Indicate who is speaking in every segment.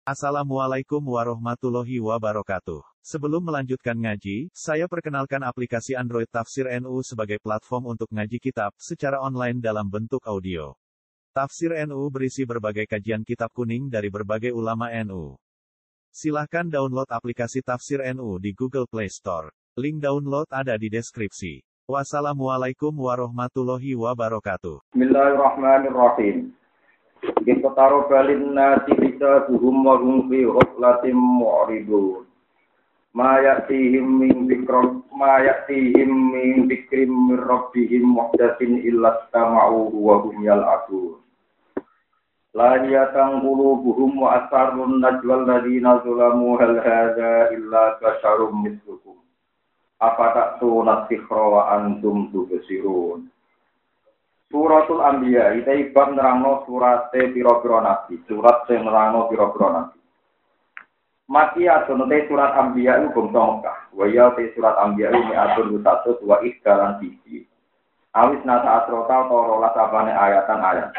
Speaker 1: Assalamualaikum warahmatullahi wabarakatuh. Sebelum melanjutkan ngaji, saya perkenalkan aplikasi Android Tafsir NU sebagai platform untuk ngaji kitab secara online dalam bentuk audio. Tafsir NU berisi berbagai kajian kitab kuning dari berbagai ulama NU. Silahkan download aplikasi Tafsir NU di Google Play Store. Link download ada di deskripsi. Wassalamualaikum warahmatullahi wabarakatuh.
Speaker 2: Bismillahirrahmanirrahim. Kita taruh balin nasi bisa buhum warung fi ghaflatin mu'ridun. Ma ya'tihim min dzikrim min rabbihim muhdatsin illa istama'u wa hum yal'abun. La yatang qulubuhum wa asarrun najwal ladina zalamu hal hadza illa basharum mislukum. Afata'tuna sikhra wa antum tubsirun. Suratul Anbiya iki bab nerangno surate pira-pira nabi, surat sing nerangno pira-pira nabi. Makiyatun te surat Anbiya iku bangsa Mekah. Wa ya te surat Anbiya iki atur satu wa ikdalan siji. Awis nata asrota rolas abane ayatan-ayat.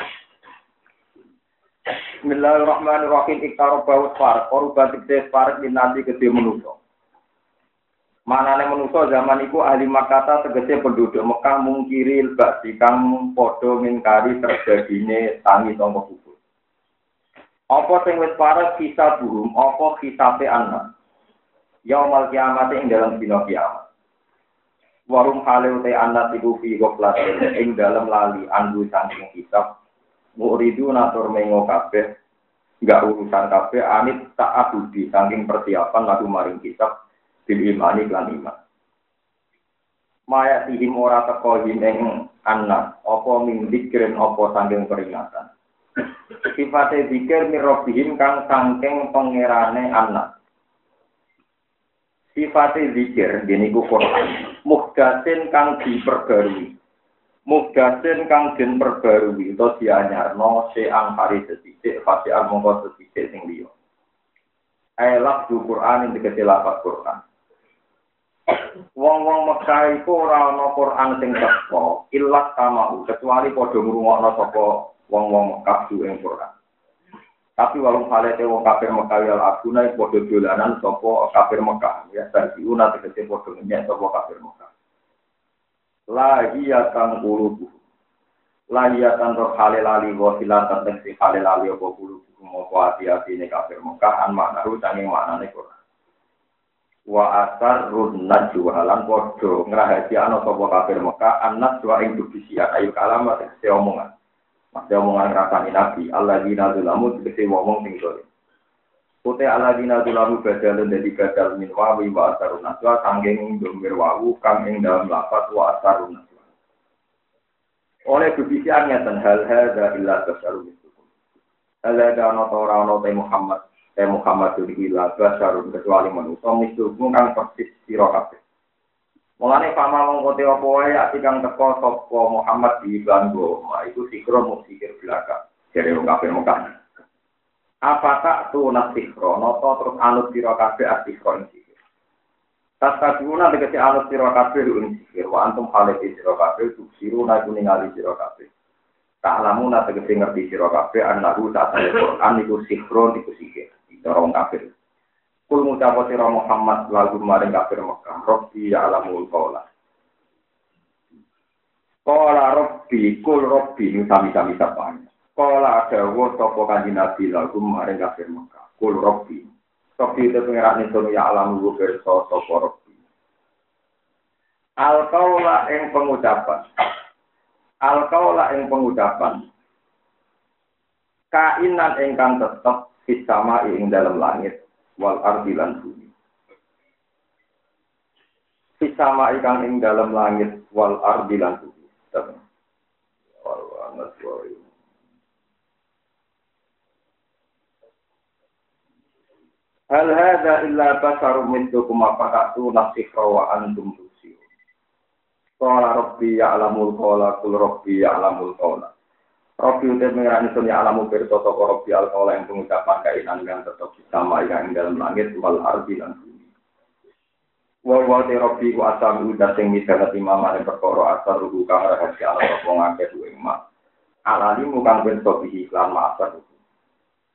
Speaker 2: Bismillahirrahmanirrahim. Iktarabau far, korban tikde far dinanti gede manusa. Manane manusa zaman iku ahli Makkah tegese penduduk Mekah mungkiri ba'di kang padha ngingkari terjadine tangi sanga kubur. Apa sing wis parek kisah burung, apa kisabe anak. Yaumul kiamat ing dalam dina kiamat. Warum haleu te anak iku fi ghaflatin ing dalam lali andu saking hisab. Muridu natur mengo kabeh, enggak urusan kabeh anit tak abudi saking persiapan lagu maring hisab. Bil imani lan iman. Maya tihim ora teko ing anak, apa min dzikrin apa saking peringatan. Sifate dzikir mirobihim kang saking pangerane anak. Sifate dzikir deniku Quran. Muhdatsin kang diperbarui. Muhdatsin kang den perbarui utawa dianyarno seang hari sethithik fasial mongko sethithik sing liya. Elak du Quran ing tegese lafaz Quran. Wong-wong Mekah iku ora ana Quran sing teko, illas kamau kecuali padha ngrungokno sapa wong-wong Mekah ing Quran. Tapi walung halete wong kafir Mekah ya aguna padha dolanan sapa kafir Mekah, ya sarjiuna tegese padha nyek sapa kafir Mekah. Lahiyatan qulubu. Lahiyatan roh halali wa silatan tegese halali apa qulubu apa ati-atine kafir Mekah an maknaru saking maknane Quran. Wa asarrun najwa lan padha ngrahasiakno sapa kafir Mekah anas wa ing dubisiat ayu kalamat se omongan. Masih omongan rasane nabi alladzina zalamu tegese wong sing dolim. Pote alladzina zalamu badalun dadi badal min wa asarrun najwa sanging domir wawu kang ing dalam lafaz wa asarrun najwa. Oleh dubisiat ngeten hal hadza illa tasarruf. Alladzina ora ana Muhammad ila basarun kecuali manusia mislukum kang persis sira kabeh. Mulane pama mongko te apa wae ati kang teko sapa Muhammad di Banggo, iku sikro mung sikir belaka. Jare wong kafir Mekah. Apa tak tu nasikro, nata terus anut sira kabeh asikro ing sikir. Tasabuna tegese anut sira kabeh ing sikir, wa antum halati sira kabeh tuksiruna kuningali sira kabeh. Ta'lamuna tegese ngerti sira kabeh annahu ta'ala Quran iku sikro iku sikir. Orang kafir. Kul ngucap sira Muhammad lagu maring kafir Mekah, Rabbi ya'lamul qaula. Qala Rabbi kul Rabbi sami-sami sapane. Qala dawuh sapa kanjeng Nabi lagu maring kafir Mekah, kul Rabbi. Rabbi te pengerane sono ya'lamu pirsa sapa Rabbi. Al qaula ing pengucapan. Al qaula ing pengucapan. Kainan ingkang tetep sama ing dalam langit wal ardi lan bumi. Sama ingkang ing dalam langit wal ardi lan bumi. Hal hadza illa basarun mithlukum faqatu nasikra wa antum tusirun. Qala rabbi ya'lamul qawla qul rabbi ya'lamul qawla. Rabbi udah mengerani sunya alamu berita toko Rabbi al-Qawla yang pengucapan kainan yang tetap sama yang dalam langit wal ardi dan bumi. Wa Rabbi ku asam udah sing misalnya timamane perkara asar ruhu kang rahasia ala wong akeh duwe mak. Alali mukang ben sobihi lan maasar.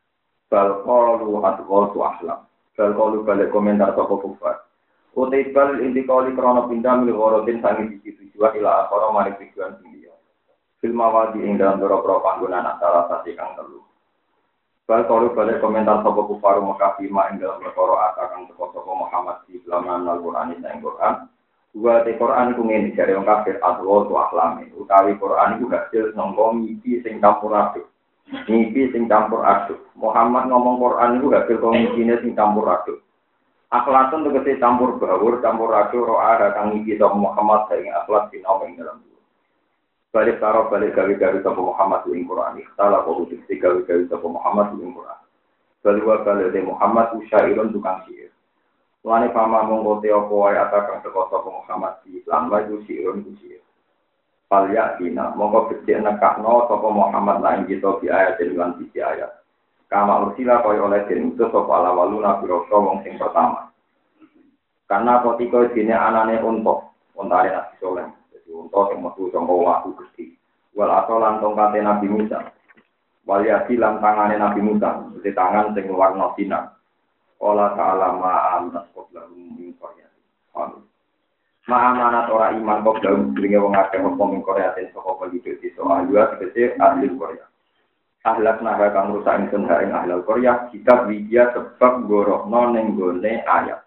Speaker 2: Bal qalu adghatu ahlam. Bal qalu balik komentar sapa kufar. Utai bal inti kali krana pindah milih orotin sangi siji tujuan ila akhara mari tujuan dunia. Film awadi ing dalam beberapa panggonan antara sasi kang telu. Bal qalu balik komentar sapa kufar Mekah bima ing dalam perkara akan sapa Muhammad di dalam Al-Qur'an ing Qur'an. Dua te Quran iku ngene jare wong kafir adwa tu ahlame utawi Quran iku hasil sangka mimpi sing campur aduk. Mimpi sing campur aduk. Muhammad ngomong Quran iku hasil komikine sing campur aduk. Akhlakun tegese campur baur, campur aduk ro'a kang mimpi sapa Muhammad sing akhlak sinau ing dalam. Balik karo balik gawe-gawe sapa Muhammad ing Quran. Ikhtala kok utik gawe-gawe sapa Muhammad ing Quran. Balik Muhammad usyairun tukang syair. Lane pama mongko te apa wae atakan teko sapa Muhammad di Islam wae sirun kuci. Palya dina mongko becik nekakno sapa Muhammad lan kita di ayat lan di ayat. Kama ursila koyo oleh den utus sapa alawaluna biro wong sing pertama. Karena kotiko dene anane unta Nabi Soleh. Jadi unta sing metu saka waktu Gusti. Wal asolan tongkate Nabi Musa. Wal yasilam tangane Nabi Musa, di tangan sing warna sinar. Allah Ta'ala ma'amanat qoblahum min qaryatin. Amin. Ma'amanat ora iman qoblahum dringe wong akeh apa min qaryatin saka penduduk desa ahliya tegese ahli Korea. Ahlak naha kang rusak ingsun ing ahli Korea kitab widya sebab gorohno ning gone ayat.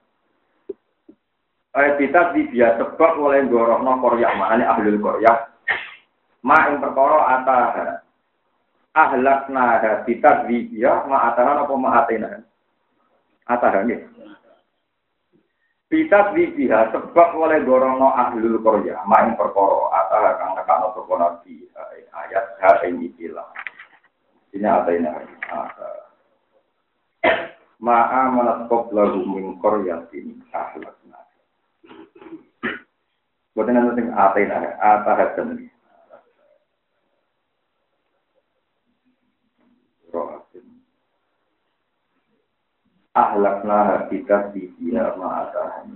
Speaker 2: Kitab widya sebab oleh gorohno Korea maknane ahli Korea. Ma ing perkara atah. Ahlak naha kitab widya ma atah apa ma atena. Atahane. Kitab biha sebab oleh gorono ahlul Korea, main perkara atah kang nekano sapa nabi ayat ha ing ikilah. Ini atene. Ma'a manat qablahu min qaryatin ahlakna. Boten ana sing atene, atahaken. Ahlakna kita di dia ma'atahan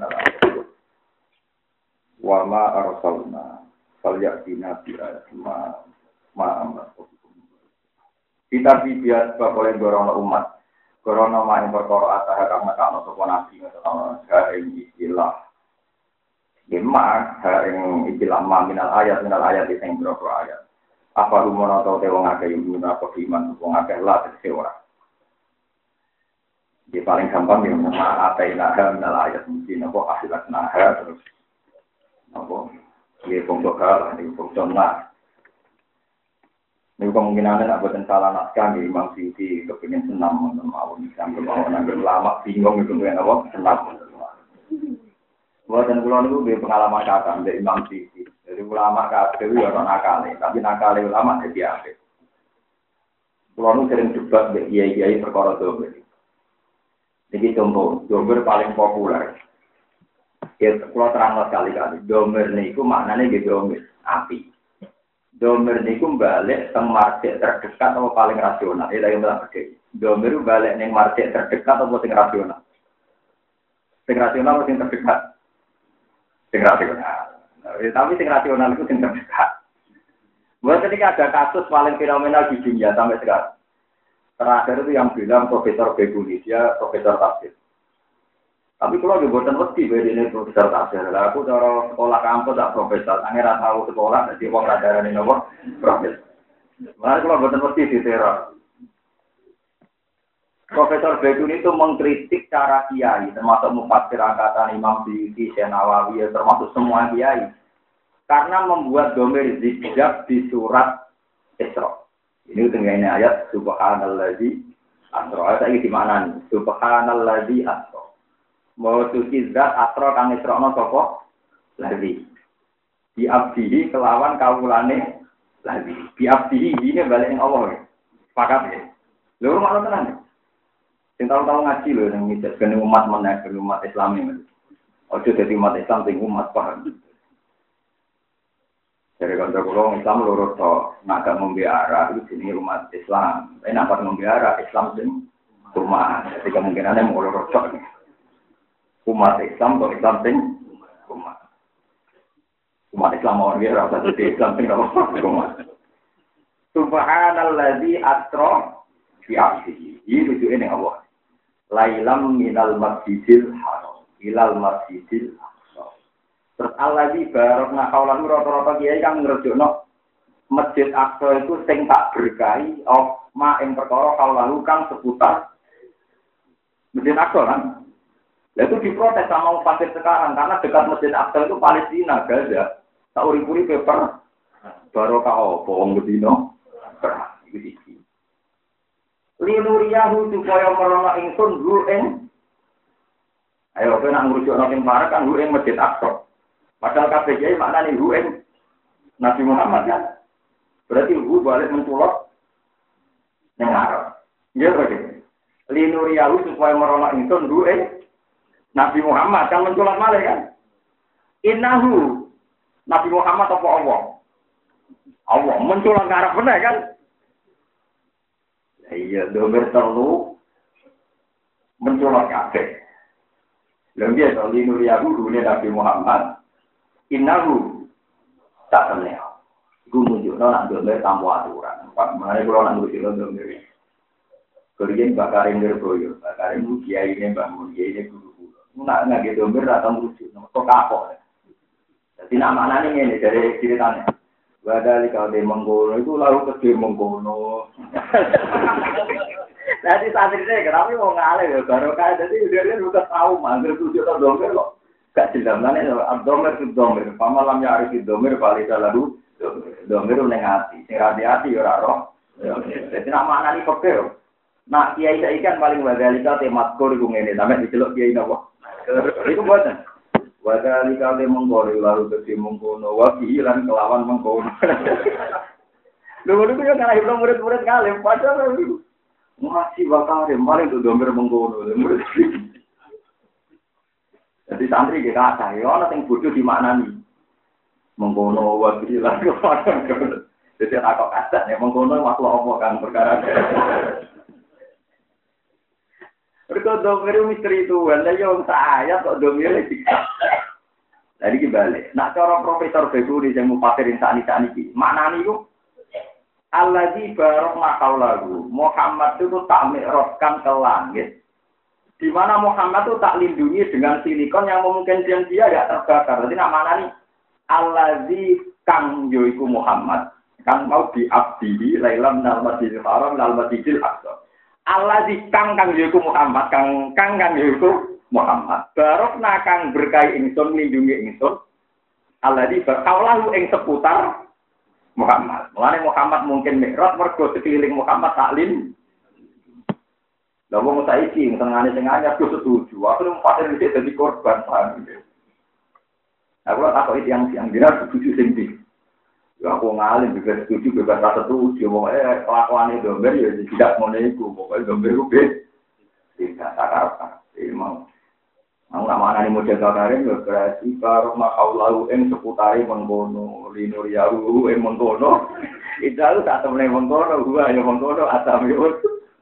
Speaker 2: wa ma arsalna falyatina bi'ayat ma'amat kita di dia sebab oleh gorono umat gorono ma'in perkara atah kang nekakno sapa nabi ngono ing istilah ing istilah minal ayat sing berapa ayat apa rumono tau te wong akeh apa iman wong akeh lah tegese ora. Di paling gampang yang apa inaha minal ayat mungkin apa akhirat naha terus apa dia pembokal ini pembokal ini kemungkinan ada buatan salah naskah di Imam Siti kepingin senam mau Islam mau nanti lama bingung itu kan apa senam buatan pulau itu dia pengalaman kata dari Imam Siti jadi ulama kata itu orang nakal tapi nakal ulama jadi apa pulau itu sering debat dengan kiai perkara itu. Jadi contoh, domer paling populer. Ya, kalau terang sekali-kali, domer niku maknanya gitu domer api. Domer niku balik teng market terdekat atau paling rasional. Itu yang bilang begini. Domer balik neng market terdekat atau sing rasional. Sing rasional atau sing terdekat? Sing rasional. Tapi sing rasional itu sing terdekat. Buat ketika ada kasus paling fenomenal di dunia sampai sekarang. Terakhir itu yang bilang Profesor Beguni, dia Profesor Tafsir. Tapi kalau di buatan mesti ini Profesor Tafsir. Lah aku cara sekolah kampus tak Profesor. Angin tahu sekolah jadi wong radaran ini apa? Profesor. Malah kalau buatan mesti diteror. Profesor Beguni itu mengkritik cara kiai, termasuk mufassir angkatan Imam Suyuti, Syekh Nawawi, termasuk semua kiai. Karena membuat domir zikjab di surat Isra. Ini tengahnya ayat subhanalladzi asra. Ayat iki di mana nih? Subhanalladzi asra. Mau suci zat asra kang isrono sapa? Lagi. Di abdihi kelawan kawulane lagi. Di abdihi ini balik ing Allah. Sepakat ya. Lho makna tenan. Sing tahu-tahu ngaji lho nang misal kene umat meneh, umat Islam iki. Ojo dadi umat Islam sing umat paham. Dari kantor pulau Islam lurus to, naga membiara itu sini umat Islam. Tapi nampak membiara Islam sing rumah. Jadi kemungkinannya mau lurus to. Umat Islam atau Islam sing rumah. Umat Islam mau dia rasa jadi Islam sing rumah. Subhanalladzi asra fi aksihi. Iki rujuke ning Allah. Lailam minal masjidil haram ilal masjidil aqsa. Terus allazi barokna kaulan rata-rata kiai kang ngrejokno Masjid Aqsa itu sing tak berkahi ma ing perkara kaulan kang seputar Masjid Aqsa kan. Itu diprotes sama umat sekarang karena dekat Masjid Aqsa itu Palestina, Gaza. Tak uri-uri paper barokah apa wong bedino. Iki iki. Linuriyahu supaya merono ingsun hu ing. Ayo kowe nak ngrujukno sing parek kan hu ing Masjid Aqsa. Padahal kabeh iki maknane hu ing Nabi Muhammad kan. Berarti hu balik menculot ning arep. Nggih berarti. Linuriyahu supaya merono ingsun hu ing Nabi Muhammad kan menculot malih kan. Innahu Nabi Muhammad apa Allah? Allah menculot ngarep bener kan? Iya, domir terlalu mencolok kabeh. Lha to linuriyahu dune Nabi Muhammad. Innahu tak temne. Iku nunjukno nek domir tanpa aturan. Pak mare kula nang ngrusino domir. Kuriyen bakarin ngerboyo, bakarin kiai ne Mbah Mun, kiai ne guru kula. Nak ngage domir ra tau ngrusino, kok kapok. Dadi nak maknane ngene dari ceritane. Badali kalau dia mengkono itu lalu ke dia mengkono. Nanti santrinya kenapa mau ngalih ya baru kan jadi dia udah tahu manggil tujuh atau domir kok gak jelas mana domir itu domir. Pamalam ya harus domir balik lalu domir nengati, hati orang roh. Jadi nama anak ini pekeh. Nah kiai saya ikan paling badali kalau temat kor itu ngene namanya dicelok kiai nabo. Itu buatnya. Wadali kali menggori lalu ke mengkono wakilan kelawan mengkono. Dulu yang karena itu murid-murid kali, padahal masih bakal paling tuh domir mengkono. Jadi santri kita ada, ya orang yang bodoh di mana nih? Mengkono wakilan kelawan. Jadi aku kata nih mengkono makhluk apa kan perkara. Mereka domir misteri itu, wala yang saya kok domir lagi. Jadi kembali. Nak cara Profesor Beguri yang mufasirin saat ini, maknanya itu Allazi barok makau lagu. Muhammad itu tak mi'rajkan ke langit. Di mana Muhammad itu tak lindungi dengan silikon yang memungkinkan dia tidak terbakar. Jadi nak maknanya Allazi kang yoiku Muhammad. Kan mau diabdihi lailam nal masjidil haram nal masjidil aqsa. Allazi kang yoiku Muhammad. Kang yoiku Muhammad. Barok nakang berkahi ingsun lindungi ingsun. Allazi berkaulahu ing seputar Muhammad. Mulane Muhammad mungkin mikrot mergo sekeliling Muhammad taklim. Lah wong saiki tengane sing anyar ku setuju. Aku pancen iki dadi korban paham. Aku tak kok yang dina setuju sing ndi. Ya aku ngalim juga setuju bebas setuju. Wong kelakuane domber ya tidak ngono iku. Pokoke domber ku tidak takar. Emang aku nak mana ni model kakarin berarti kalau makaulahu em seputari mengkono linur yahu em mengkono itu tak temen mengkono gua yang mengkono asam yud.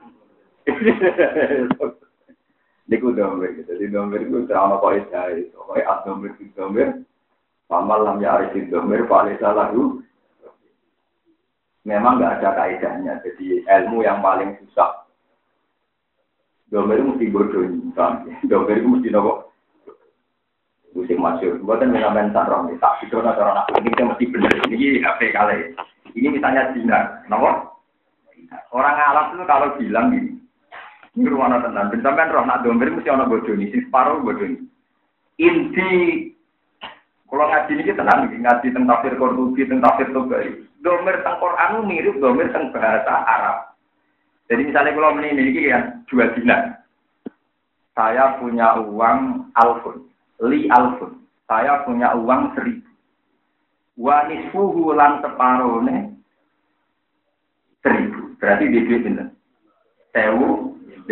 Speaker 2: Niku domber gitu, di domber itu terang apa itu, kayak domber itu domber, pamalam ya arif itu domber paling salah itu. Memang nggak ada kaidahnya, jadi ilmu yang paling susah. Domber itu mesti bodoh, domber itu mesti nopo. Musim masyur, buatan mengamen sarong, tak itu orang aku ini mesti benar. Ini apa kali? Ini misalnya Cina, nopo? Orang Arab itu kalau bilang gini, ini ruang tenan, bentangan roh nak domber mesti orang bodoh ini, si separuh bodoh ini. Inti, kalau ngaji ini tenang, ngaji tentang tafsir Qurtubi, tentang tafsir Tobari. Domber tentang Quran mirip domber tentang bahasa Arab. Jadi misalnya kalau ini kan 2 dinar. Saya punya uang alfun, li alfun. Saya punya uang 1000. Wa nisfuhu lan separone 1000. Berarti di duit pinten? 1500.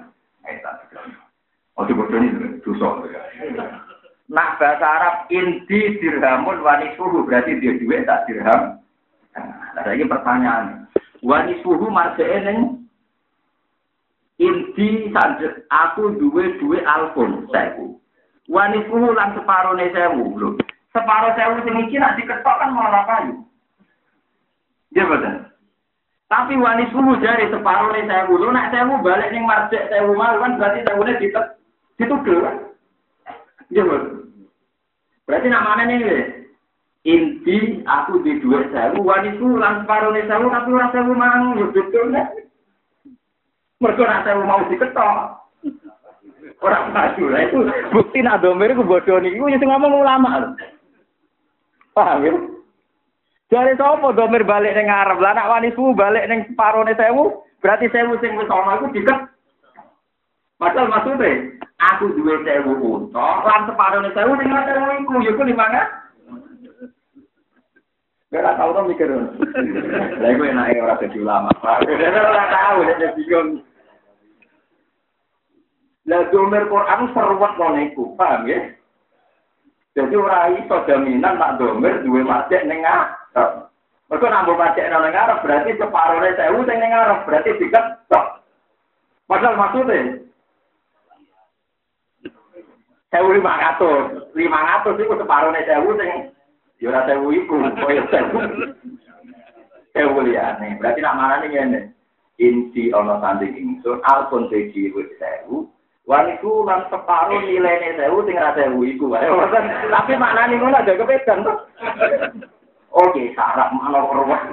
Speaker 2: Oh dibodoh ini dosa. Nak bahasa Arab inti dirhamun wa nisfuhu berarti dia duit tak dirham. Nah, ini pertanyaan. Wa nisfuhu marjane inti sanjek aku duwe alfun 1000. Wanifuhu lan separone 1000 lho. Separo 1000 sing iki nek diketok kan malah kayu. Nggih boten. Tapi wani suhu jari separuh nih saya dulu, nak saya balik nih marjek saya mau kan berarti tahunnya ditugel kan? Iya berarti namanya nih inti aku di 2.000 wani suhu lan separuh nih saya tapi orang saya mau ya betul nih. Mereka nak saya mau diketok orang maju lah itu bukti nak domir itu bodoh nih, itu yang ngomong ulama, paham ya? Dari sopo domir balik neng Arab, lah nak wanisu balik neng separuh nih sewu, berarti sewu sing wis ana iku diket. Padahal maksudnya, aku duwe sewu unta, lan separuh nih sewu sing ora sewu iku, ya ku 5.000. Ora tau to mikir. Lah iku enake ora dadi ulama. Ora tau nek bingung. Lah domir Quran seruwet ngono iku, paham ya? Jadi ora iso jaminan nak domir duwe masjid ning Arab. Mergo nambah masjid nang Arab berarti separone 1000 sing ning Arab berarti diket tok. Padahal maksudnya 1.500 iku separone 1000 sing ya ora 1000 iku koyo 1000. 1000 liyane. Berarti nak marane ngene. Inti ana tanding ingsun alpun siji wis 1000. Waniku lan separuh nilainya 1000 sing ra 1000 iku wae. Tapi maknane ngono aja kepedan to. Oke, sarap makna perwah.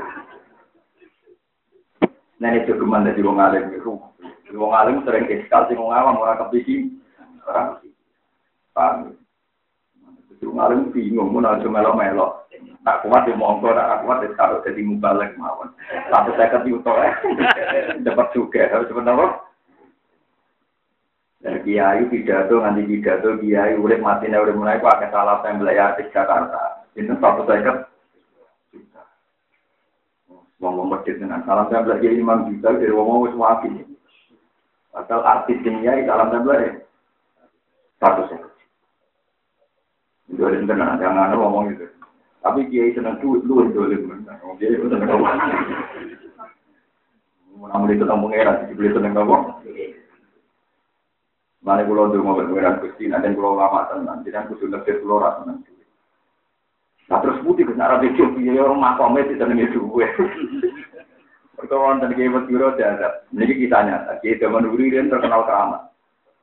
Speaker 2: Nah itu geman dari wong alim itu. Wong alim sering iskal sing wong awam ora kepisi. Ora kepisi. Paham. Wong alim bingung mun aja melo-melo. Tak kuat yo monggo, tak kuat wis karo dadi mubalek mawon. 150 juta dapat juga harus benar. Dan kiai pidato nganti pidato kiai urip matine urip mulai kok akeh salah tembel ya di Jakarta. Itu 150 juta. Wong medhit dengan salam tembel kiai 5 juta dari wong wis wapi. Asal artis kiai salam tembel ya 150. Itu ada tenan jangan ngomong gitu. Tapi kiai seneng duit lu dolim men. Kiai seneng ngomong. Mun itu tentang pengeran dibeli seneng ngomong. Mari kula ndonga pengiran Gusti, nek kula ulama tenan, jenengan kudu nekir kula ra tenan. Nah terus putih ke arah itu, ya orang makome disenengi duwe. Perkawan dan kiai Biro ada, ini kisahnya. Kiai Zaman Uririn terkenal keramat.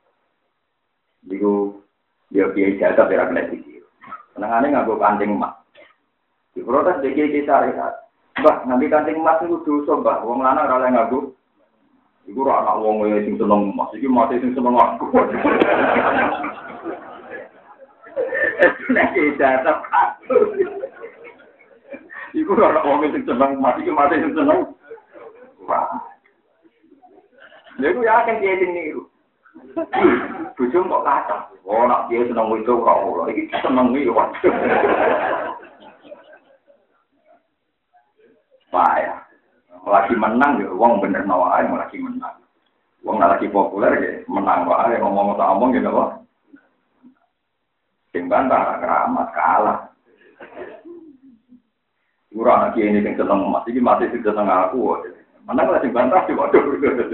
Speaker 2: Diku dia kiai jasa berak lagi. Senengannya nganggo kancing emas. Di protes dia kiai syariat. Mbah, nanti kancing emas itu dosa, mbah. Wong lanang ora nganggo. Iku ora anak wong sing seneng emas, iki mate sing seneng aku. Nek jasa. Iku ora wong sing seneng emas, iki mate sing seneng. Wah. Lha iku ya kan dia sing niru. Bojo kok kacang. Oh, nak dia seneng itu kok ora. Iki seneng iki waduh. Wah ya. Lagi menang ya, wong bener nawae lagi menang. Wong lagi populer ya, menang wae ngomong tak omong gitu kok. Sing bantah keramat kalah. Ora lagi ini sing seneng emas iki mati sing seneng aku. Menang lagi bantah sih waduh.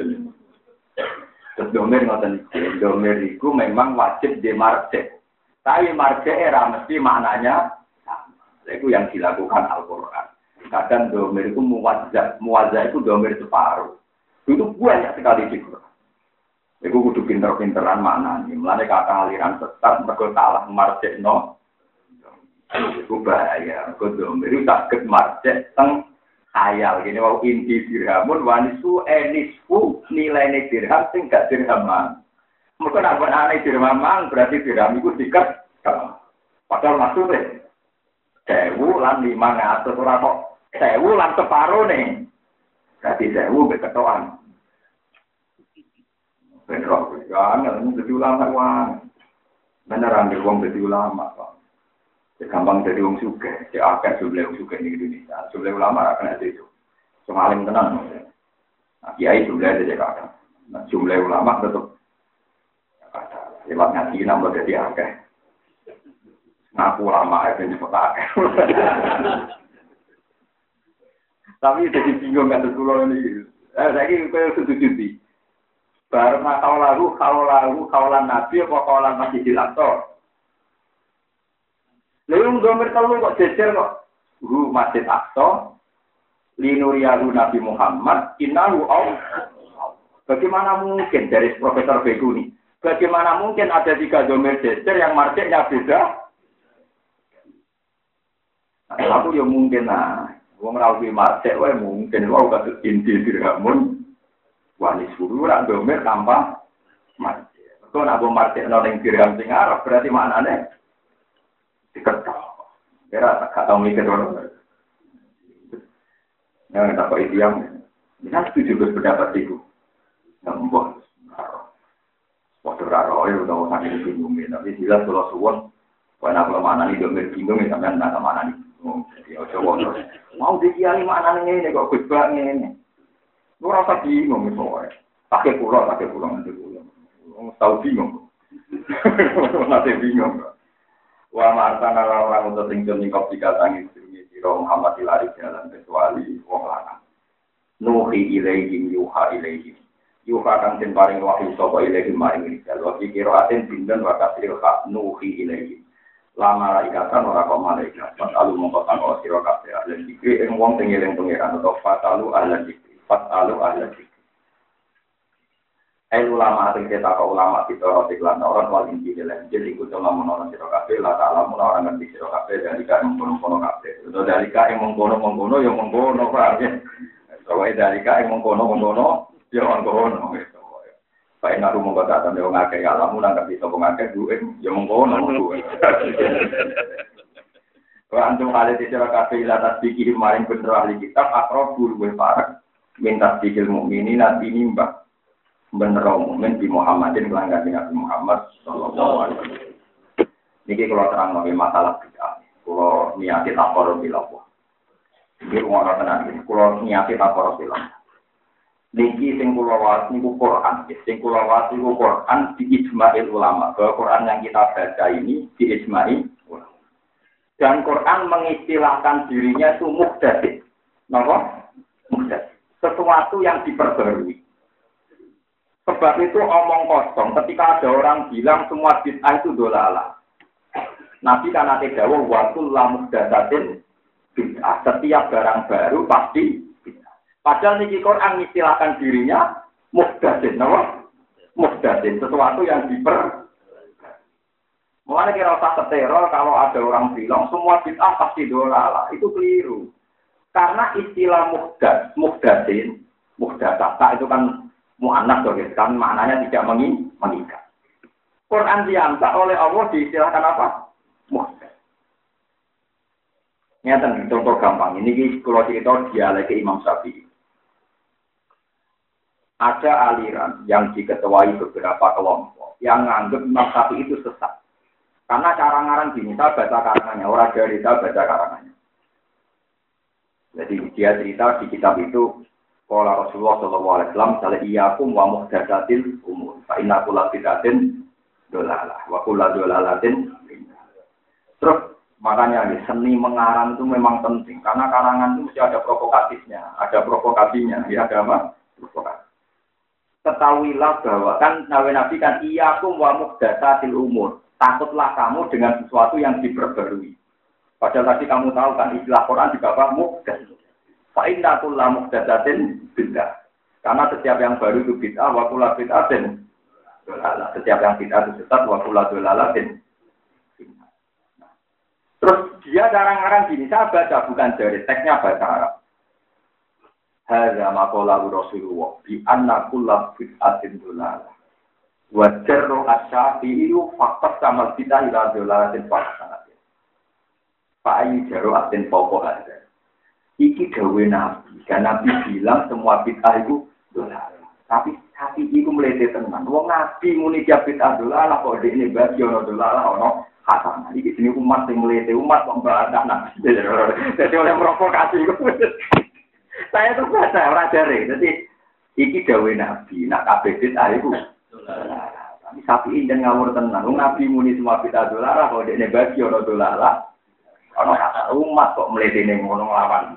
Speaker 2: Terus domir ngoten iki. Domir iku memang wajib di marjek. Tapi marjek era mesti maknanya sama. Itu yang dilakukan Al-Qur'an. Kadang domir itu muwazah itu domir separuh. Itu banyak sekali di Quran. Itu kudu pinter-pinteran maknanya. Mulanya kata aliran sesat, mereka salah marjek no. Itu bahaya. Mereka domir itu sakit marjek teng khayal. Gini wau inti dirhamun wanisu enisfu nilai dirham sing gak dirhaman. Mereka nak aneh dirhaman berarti dirham itu dikat. Padahal maksudnya 1000 lan 500 ora kok 1000 lan separuh nih. Berarti 1000 beketoan. Bener kok jangan jadi ulama wae. Beneran wong jadi ulama kok. Gampang jadi wong sugih, ya akeh jumlah wong sugih di Indonesia. Jumlah ulama akan ada itu. Semaling tenang. Nah, kiai jumlah ada kadang. Nah, jumlah ulama tetap ada. Lewat ngaji nambah jadi akeh. Ngaku ulama itu nyebut akeh. Tapi jadi bingung kan dulu ini. Saya ini kayak setuju. Baru kaulan Nabi apa kaulan Masjidil Aqsa. Lalu domir telu kok jejer kok. Masjid Aqsa Linuriyahu Nabi Muhammad innahu Allah. Bagaimana mungkin dari Profesor Beguni? Bagaimana mungkin ada 3 domir jejer yang marjiknya beda? Nah, aku ya mungkin lah. Wong rawi marjik wae mungkin wae kados inti dirhamun. Wani suruh ora domir tanpa marjik. Kok nek marjik ana ning dirham sing Arab berarti maknane diketok. Kira tak tahu mikir orang. Yang tak kau yang, kita setuju berpendapat itu. Nampak, waktu raro itu tahu sangat bingung. Tapi jelas kalau suwon, kalau nak mana ni domir bingung, sampai nak mana ni. Jadi coba mau dikiali mana ni kok khutbah ni. Lu rasa bingung misalnya. Pakai pulau nanti pulau. Tahu bingung. Nanti bingung. Wa ma'artana orang untuk tinggal di kopi katangi siro Muhammad ilari jalan kecuali wong lanang. Nuhi ilaihim yuha ilaihim. Yuha kang den paring wahyu sapa ilaihim maring rijal. Wa kira aten dinten wa kasril hak nuhi ilaihim. La malaikatan ora kok malaikat. Fatalu mongko tanggo sira kabeh lan dikri ing wong sing eling pangeran atau fatalu ahla dikri. Fatalu ahla dikri. Ulama sing cetak ulama kita lan orang wali dilen jadi ikut dalam menolong sira kabeh la ta'ala orang ngerti sira kabeh dari ka mengkono-kono kabeh utawa dari ka mengkono-mengkono ya mengkono kabeh soalé dari ka mengkono-mengkono ya mengkono Pak Naru monggo tak tanda wong akeh alamu nang ngerti sapa ngakeh duwe ya mengkono duwe Wa antum hale sira kabeh la tasbiki maring bener ahli kitab akrabul wa farak minta sikil mukminin nabi nimbah bener mukmin di Muhammadin kelanggan Nabi Muhammad sallallahu alaihi wasallam. Niki kalau terang mengenai masalah bid'ah. Kalau niati takor bilawah. Niki ngono tenan iki. Kalau niati takor bilawah. Niki sing kula waos niku Quran. Sing kula waos niku Quran di ijma'il ulama. Bahwa Quran yang kita baca ini di ijma'i ulama. Dan Quran mengistilahkan dirinya itu muhdatsin. Napa? Muhdatsin. Sesuatu yang diperbarui. Sebab itu omong kosong ketika ada orang bilang semua bid'ah itu dolalah. Nabi kan ate dawuh wa kullu muhdatsatin bid'ah. Setiap barang baru pasti bid'ah. Padahal niki Quran istilahkan dirinya muhdatsin, napa? Muhdatsin, sesuatu yang Mulane kira usah teror kalau ada orang bilang semua bid'ah pasti dolalah. Itu keliru. Karena istilah muhdatsin, muhdatsah itu kan mu'annas kan maknanya tidak mengikat. Quran diangkat oleh Allah diistilahkan apa? Muhdatsah. Nyata contoh gampang. Ini kalau cerita dialek Imam Syafi'i. Ada aliran yang diketuai beberapa kelompok yang menganggap Imam Syafi'i itu sesat. Karena cara ngarang gini, saya baca karangannya, orang dari saya baca karangannya. Jadi dia cerita di kitab itu Qala Rasulullah sallallahu alaihi wasallam sala iyyakum wa muhdatsatil umur. Fa inna kulla bid'atin dolalah wa kulla dolalatin. Terus makanya seni mengarang itu memang penting karena karangan itu mesti ada provokatifnya, ada provokasinya, ya ada apa? Provokasi. Ketahuilah bahwa kan Nabi kan iyyakum wa muhdatsatil umur. Takutlah kamu dengan sesuatu yang diperbarui. Padahal tadi kamu tahu kan istilah Quran juga apa? Muhdats. Fa inna kulla muhdatsatin bid'ah. Karena setiap yang baru itu bid'ah wa kullu bid'atin dolalah. Setiap yang bid'ah itu sesat wa kullu dolalatin. Terus dia jarang-jarang gini, saya baca bukan dari teksnya bahasa Arab. Hadza maqala Rasulullah bi anna kullu bid'atin dolalah. Wa jarru asy-syafi'i faqat sama bid'ah ila dolalatin faqat. Fa ayi jarru atin faqat. Iki dawe Nabi, kan Nabi bilang semua bid'ah itu dolalah. Tapi itu melete tenan. Wong Nabi muni dia bid'ah dolalah kok dekne bagi ono dolalah ono hasanah. Iki jenenge umat sing melete, umat kok mbantah Nabi. Jadi oleh provokasi. Saya tuh baca ora jare. Jadi iki dawe Nabi, nak kabeh bid'ah itu dolalah. Tapi sapi den ngawur tenan. Wong Nabi muni semua bid'ah dolalah kok dekne bagi ono dolalah. Ono hasanah umat kok melete ning ngono nglawan.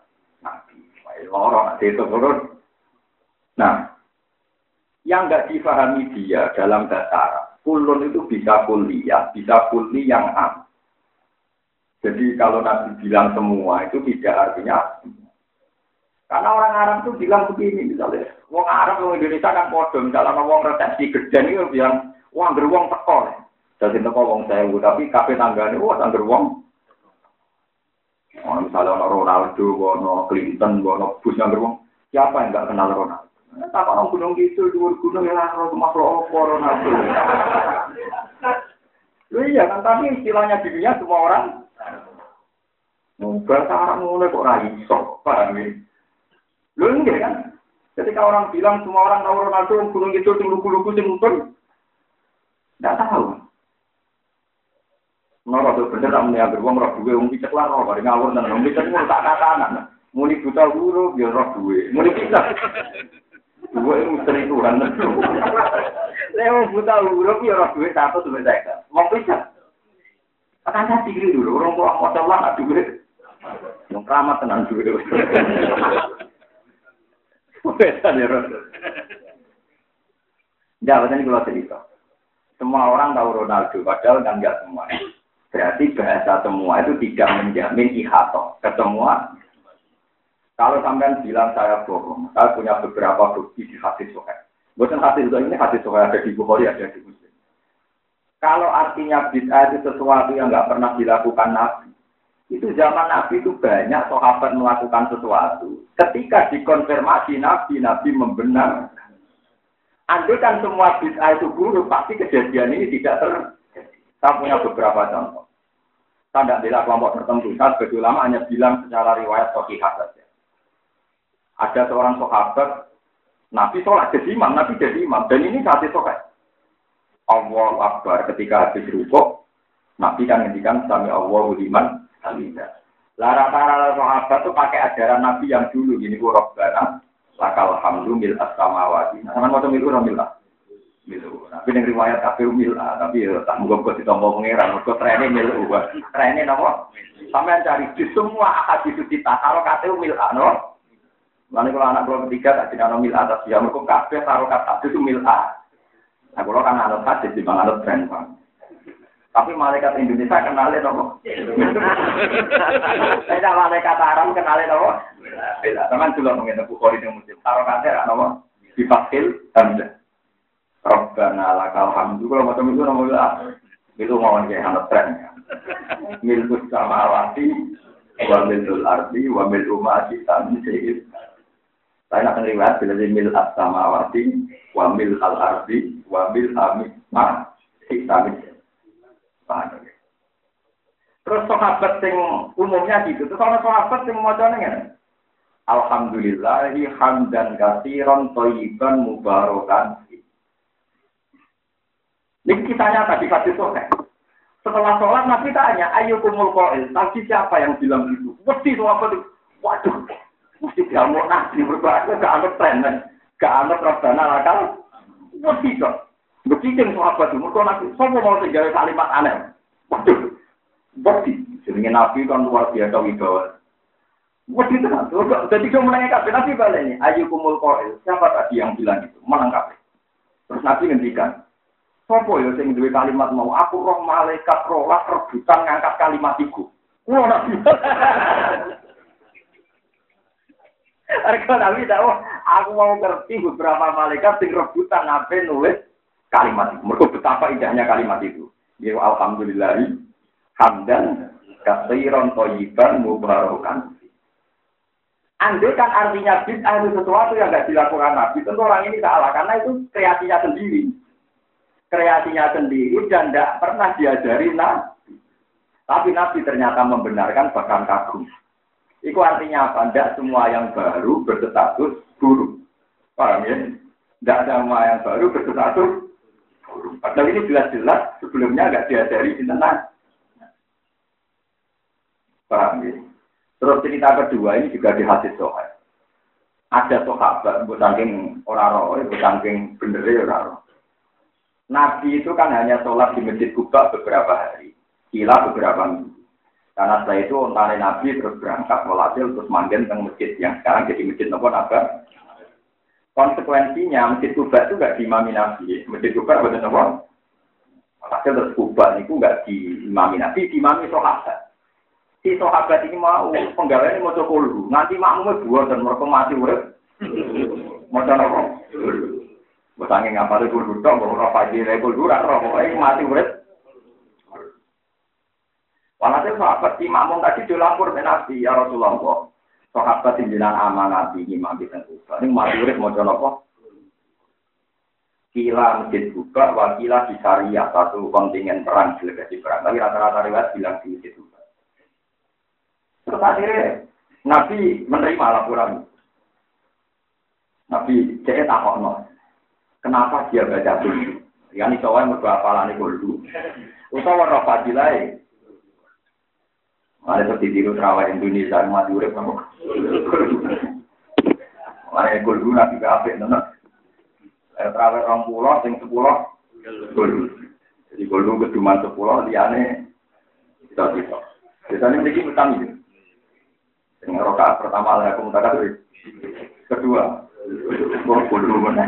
Speaker 2: Orang itu turun. Nah, yang nggak difahami dia dalam bahasa Arab, kulun itu bisa kuliah, bisa kuli yang am. Jadi kalau Nabi bilang semua itu tidak artinya Karena orang Arab tuh bilang begini misalnya, wong Arab wong Indonesia kan podo, misalnya wong resepsi geden itu bilang, wah geruang teko. Jadi teko wong sewu, tapi kafe tanggane, wah geruang. Oh, misalnya ono Ronaldo, ono Clinton, ono Bush yang geruang, siapa yang nggak kenal Ronaldo? Tak orang gunung gitu, dua gunung ya, makhluk apa Ronaldo. Iya kan, tapi istilahnya di dunia semua orang. Bahasa Arab mulai kok raiso, paham ya? Lu enggak kan? Ketika orang bilang semua orang tahu Ronaldo, gunung itu lugu-lugu sing tidak tahu. Nora tuh bener tak meniak beruang roh duwe, picek lah roh, bareng ngawur dan picek mau tak katakan. Muni buta huruf, ya roh duwe. Muni picek. Duwe misteri Tuhan. Lewat buta huruf, ya roh duwe satu sampai saya. Mau picek. Akan saya pikir dulu, orang tua mau coba nggak duwe. Yang keramat tenang duwe. Beda ya roh. Jangan ini kalau cerita. Semua orang tahu Ronaldo, padahal kan nggak semua. Berarti bahasa semua itu tidak menjamin ihato ketemuan. Kalau sampean bilang saya bohong, saya punya beberapa bukti di hadis Sahih. Bukan hadis ini hadis Sahih ada di Bukhari, ada di Muslim. Kalau artinya bid'ah itu sesuatu yang nggak pernah dilakukan Nabi, itu zaman Nabi itu banyak sahabat melakukan sesuatu. Ketika dikonfirmasi Nabi membenarkan. Andai kan semua bid'ah itu buruk, pasti kejadian ini tidak terjadi. Saya punya beberapa contoh. Saya tidak bela kelompok tertentu. Saya sebagai ulama hanya bilang secara riwayat sahihah saja. Ada seorang sahabat, Nabi sholat jadi imam, Nabi jadi imam. Dan ini hadis sahih. Allahu Akbar ketika habis rukuk, Nabi kan ngendikan sami Allahu liman hamidah. Rata-rata sahabat itu pakai ajaran Nabi yang dulu. Ini Rabbana lakal hamdu mil as-samawati. Sama macam itu milah. Milu. Tapi yang riwayat kafir milah, tapi tak mungkin kok ditompo pangeran, kok trene milu. Trene napa? Sampeyan cari di semua hadis kita karo kate milah, no. Lalu kalau anak keluar ketiga tak dikano milah atas ya mergo kabeh karo kata itu milah. Nah, kalau kan anut hadis di bang anut tren, Bang. Tapi malaikat Indonesia kenalnya nopo. Saya malaikat Arab kenalnya nopo. Beda. Teman juga mengenai Bukhari yang Muslim. Taruh kata nopo difakil hamzah. Rabbana lakal hamdu. Kalau macam itu nopo itu mau kayak anut tren. Milkus samawati, wa milul ardi, wa mil umati tanzil. Saya nak riwayat bila mil as-samawati, wa mil al-ardi, wa mil ma tanzil. Terus sahabat sing umumnya gitu. Terus ana sahabat sing macane ngene. Alhamdulillahi hamdan katsiran thayyiban mubarakan. Ini kitanya tadi hadis sahih. Setelah sholat Nabi tanya, ayyukumul qail? Tadi siapa yang bilang gitu? Mesti sahabat itu. Waduh. Mesti dia mau Nabi berbahasa gak anut tren. Gak anut Rabbana lakal. Mesti kok. Begitu sahabat itu, mereka Nabi, semua mau tinggal kalimat aneh. Waduh, bukti. Jadi Nabi kan luar biasa wibawa. Bukti itu kan. Jadi dia menanyakan, Nabi baliknya, ayyukumul qail. Siapa tadi yang bilang itu? Menangkap. Terus Nabi ngendikan, sopo ya sing duwe kalimat mau, aku roh malaikat rolah rebutan ngangkat kalimat iku. Kulo Nabi. Arek Nabi tahu, aku mau ngerti beberapa malaikat sing rebutan nabe nulis kalimat itu. Mereka betapa indahnya kalimat itu. Ya alhamdulillahi hamdan katsiran thayyiban mubarakan. Andai kan artinya bid'ah itu sesuatu yang tidak dilakukan Nabi, tentu orang ini salah karena itu kreasinya sendiri. Kreasinya sendiri dan tidak pernah diajari Nabi. Tapi Nabi ternyata membenarkan bahkan kagum. Itu artinya apa? Tidak semua yang baru berstatus buruk. Paham ya? Tidak ada semua yang baru berstatus. Padahal ini jelas-jelas sebelumnya nggak diajari di tenang. Paham ya? Terus cerita kedua ini juga di hadis Sahih. Ada sahabat, saking orang-orang, saking bener orang. Nabi itu kan hanya sholat di Masjid Kuba beberapa hari, kila beberapa minggu. Karena setelah itu ontare Nabi terus berangkat walhasil terus manggen teng masjid yang sekarang jadi Masjid Nabawi. Konsekuensinya Masjid Kuba itu nggak diimami Nabi. Masjid Kuba betul apa? Hasil terus Kuba itu nggak diimami Nabi, diimami sahabat. Si sahabat ini mau penggaweane maca kulhu, nganti makmume buatan mereka mati urip. Maca napa? Mbok sange ngapale kulhu tok, mbok ora fajire kulhu ora pokoke mati urip. Walhasil sahabat si makmum tadi dilapor ke Nabi, ya Rasulullah. Sahabat jenengan amanat iki mati ten Kuba. Ning mati urip maca napa? Kila masjid Kuba, wakila di Syariah, satu kontingen perang, delegasi perang. Tapi rata-rata riwayat bilang di masjid Kuba. Terus akhirnya Nabi menerima laporan. Nabi cek takokno. Kenapa dia baca kulhu? Yani soalnya mergo hafalane kulhu. Utawa ora fadilae. Mare seperti tiru terawih Indonesia mati urip nang. Mare kulhu nabi apik tenan. Terawih 20 sing 10 kulhu. Jadi kulhu keduman 10 liyane kita. Biasanya mriki utang iki. Sing rakaat pertama lah aku mutak itu. Kedua, kulhu menang.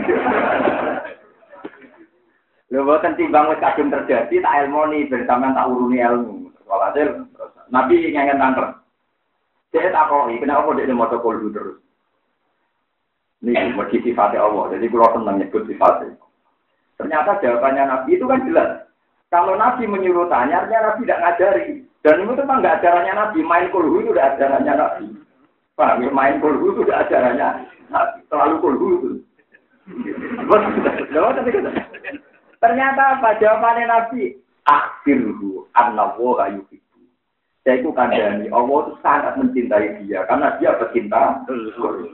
Speaker 2: Lha boten timbang wis kadung terjadi tak ilmoni bersama tak uruni ilmu. Walhasil Nabi ngengen tangker. Saya takoki, kenapa dia maca kulhu terus? Ini mergi sifatnya Allah, jadi kalau senang nyebut sifatnya. Ternyata jawabannya Nabi itu kan jelas. Kalau Nabi menyuruh tanya, artinya Nabi tidak ngajari. Dan itu memang nggak ajarannya Nabi. Main kulhu itu udah ajarannya Nabi. Paham ya? Main kulhu itu udah ajarannya Nabi. Selalu kulhu itu. Ternyata apa? Jawabannya Nabi. Akhirhu annallaha yuhibbu. Saya itu kandani. Allah itu sangat mencintai dia. Karena dia pecinta kulhu.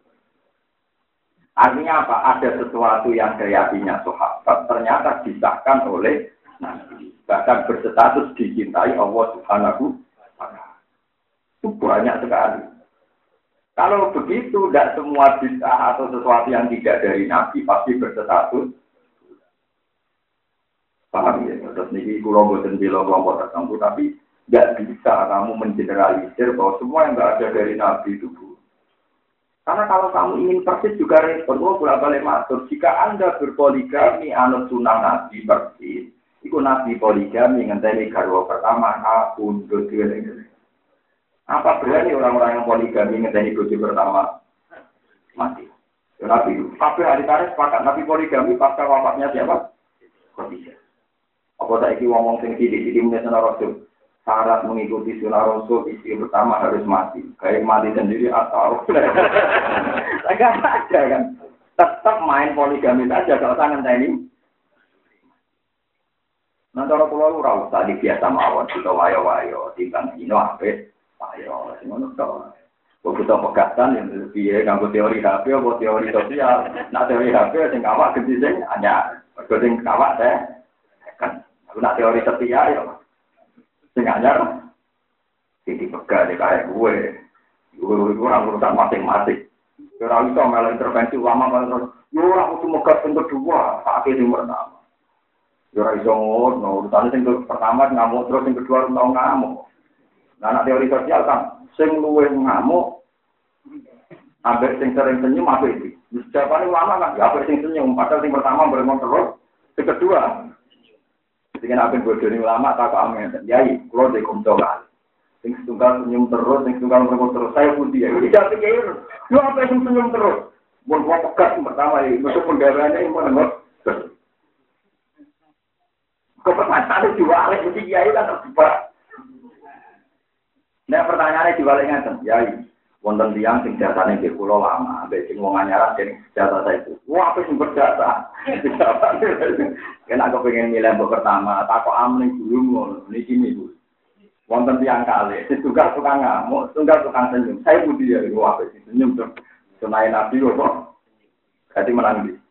Speaker 2: Artinya apa? Ada sesuatu yang kreasinya sahabat. Ternyata disahkan oleh Nabi. Bahkan berstatus dicintai Allah Subhanahu wa Ta'ala. Itu banyak sekali. Kalau begitu, tidak semua bid'ah atau sesuatu yang tidak dari Nabi pasti berstatus. Paham ya? Terus ini kalau bosan bilang kelompok tertentu, tapi tidak bisa kamu mengeneralisir bahwa semua yang tidak ada dari Nabi itu buruk. Karena kalau kamu ingin persis juga respon, bolak-balik matur. Jika Anda berpoligami anut sunnah Nabi persis, itu Nabi poligami ngenteni garwa pertama, undur diri. Apa berani orang-orang yang poligami ngenteni bojo pertama mati? Ya, Nabi itu. Tapi hari tarik sepakat Nabi poligami pasca wafatnya siapa? Khadijah. Apa saiki ngomong sing sithik-sithik menyang Rasul. Syarat mengikuti sunnah Rasul istri pertama harus mati. Kayak mati sendiri atau enggak ada kan? Tetap main poligami saja kalau tangan ini. Nah, cara pulau ora usah dibiasa mawon kita wayo-wayo timbang dino apik ayo sing ngono to. Kok kita pegatan yang piye kanggo teori HP apa teori sosial. Nah teori HP sing awak gede sing anyar. Mergo sing awak teh kan. Nah teori setia ya. Sing anyar iki pegat kaya gue. Gue ora urusan masing-masing. Ora iso melu intervensi ulama terus. Yo ora kudu megat sing kedua, sak sing pertama. Ora iso ngono, urusan sing pertama ngamuk terus sing kedua ora ngamuk. Nah, anak teori sosial kan sing luwih ngamuk ambek sing sering senyum apa iki? Jawabane ulama kan ya ambek sing senyum, padahal sing pertama beremon terus, sing kedua sing apa bodoni ulama tak amen. Yai, kula de kumtolan. Sing setunggal senyum terus, sing setunggal beremon terus, saya putih ya. Tidak pikir, lu apa sing senyum terus? Mun kok pekat pertama iki, mesti penggaweane impun nembok. Kepercayaan diwalik mesti kiai kan terjebak. Nah pertanyaannya diwalik ngaten, kiai. Wonten tiyang sing jasane nggih kula lama, ambek sing wong anyaran sing jasa itu. Wah, apa sing berjasa? Kena kepengin milih mbok pertama, takok amling dulu ngono. Niki niku. Wonten tiyang kalih, tunggal tukang ngamuk, tunggal tukang senyum. Saya budi ya, wah apa sing senyum to. Sunai Nabi kok. Berarti menang iki.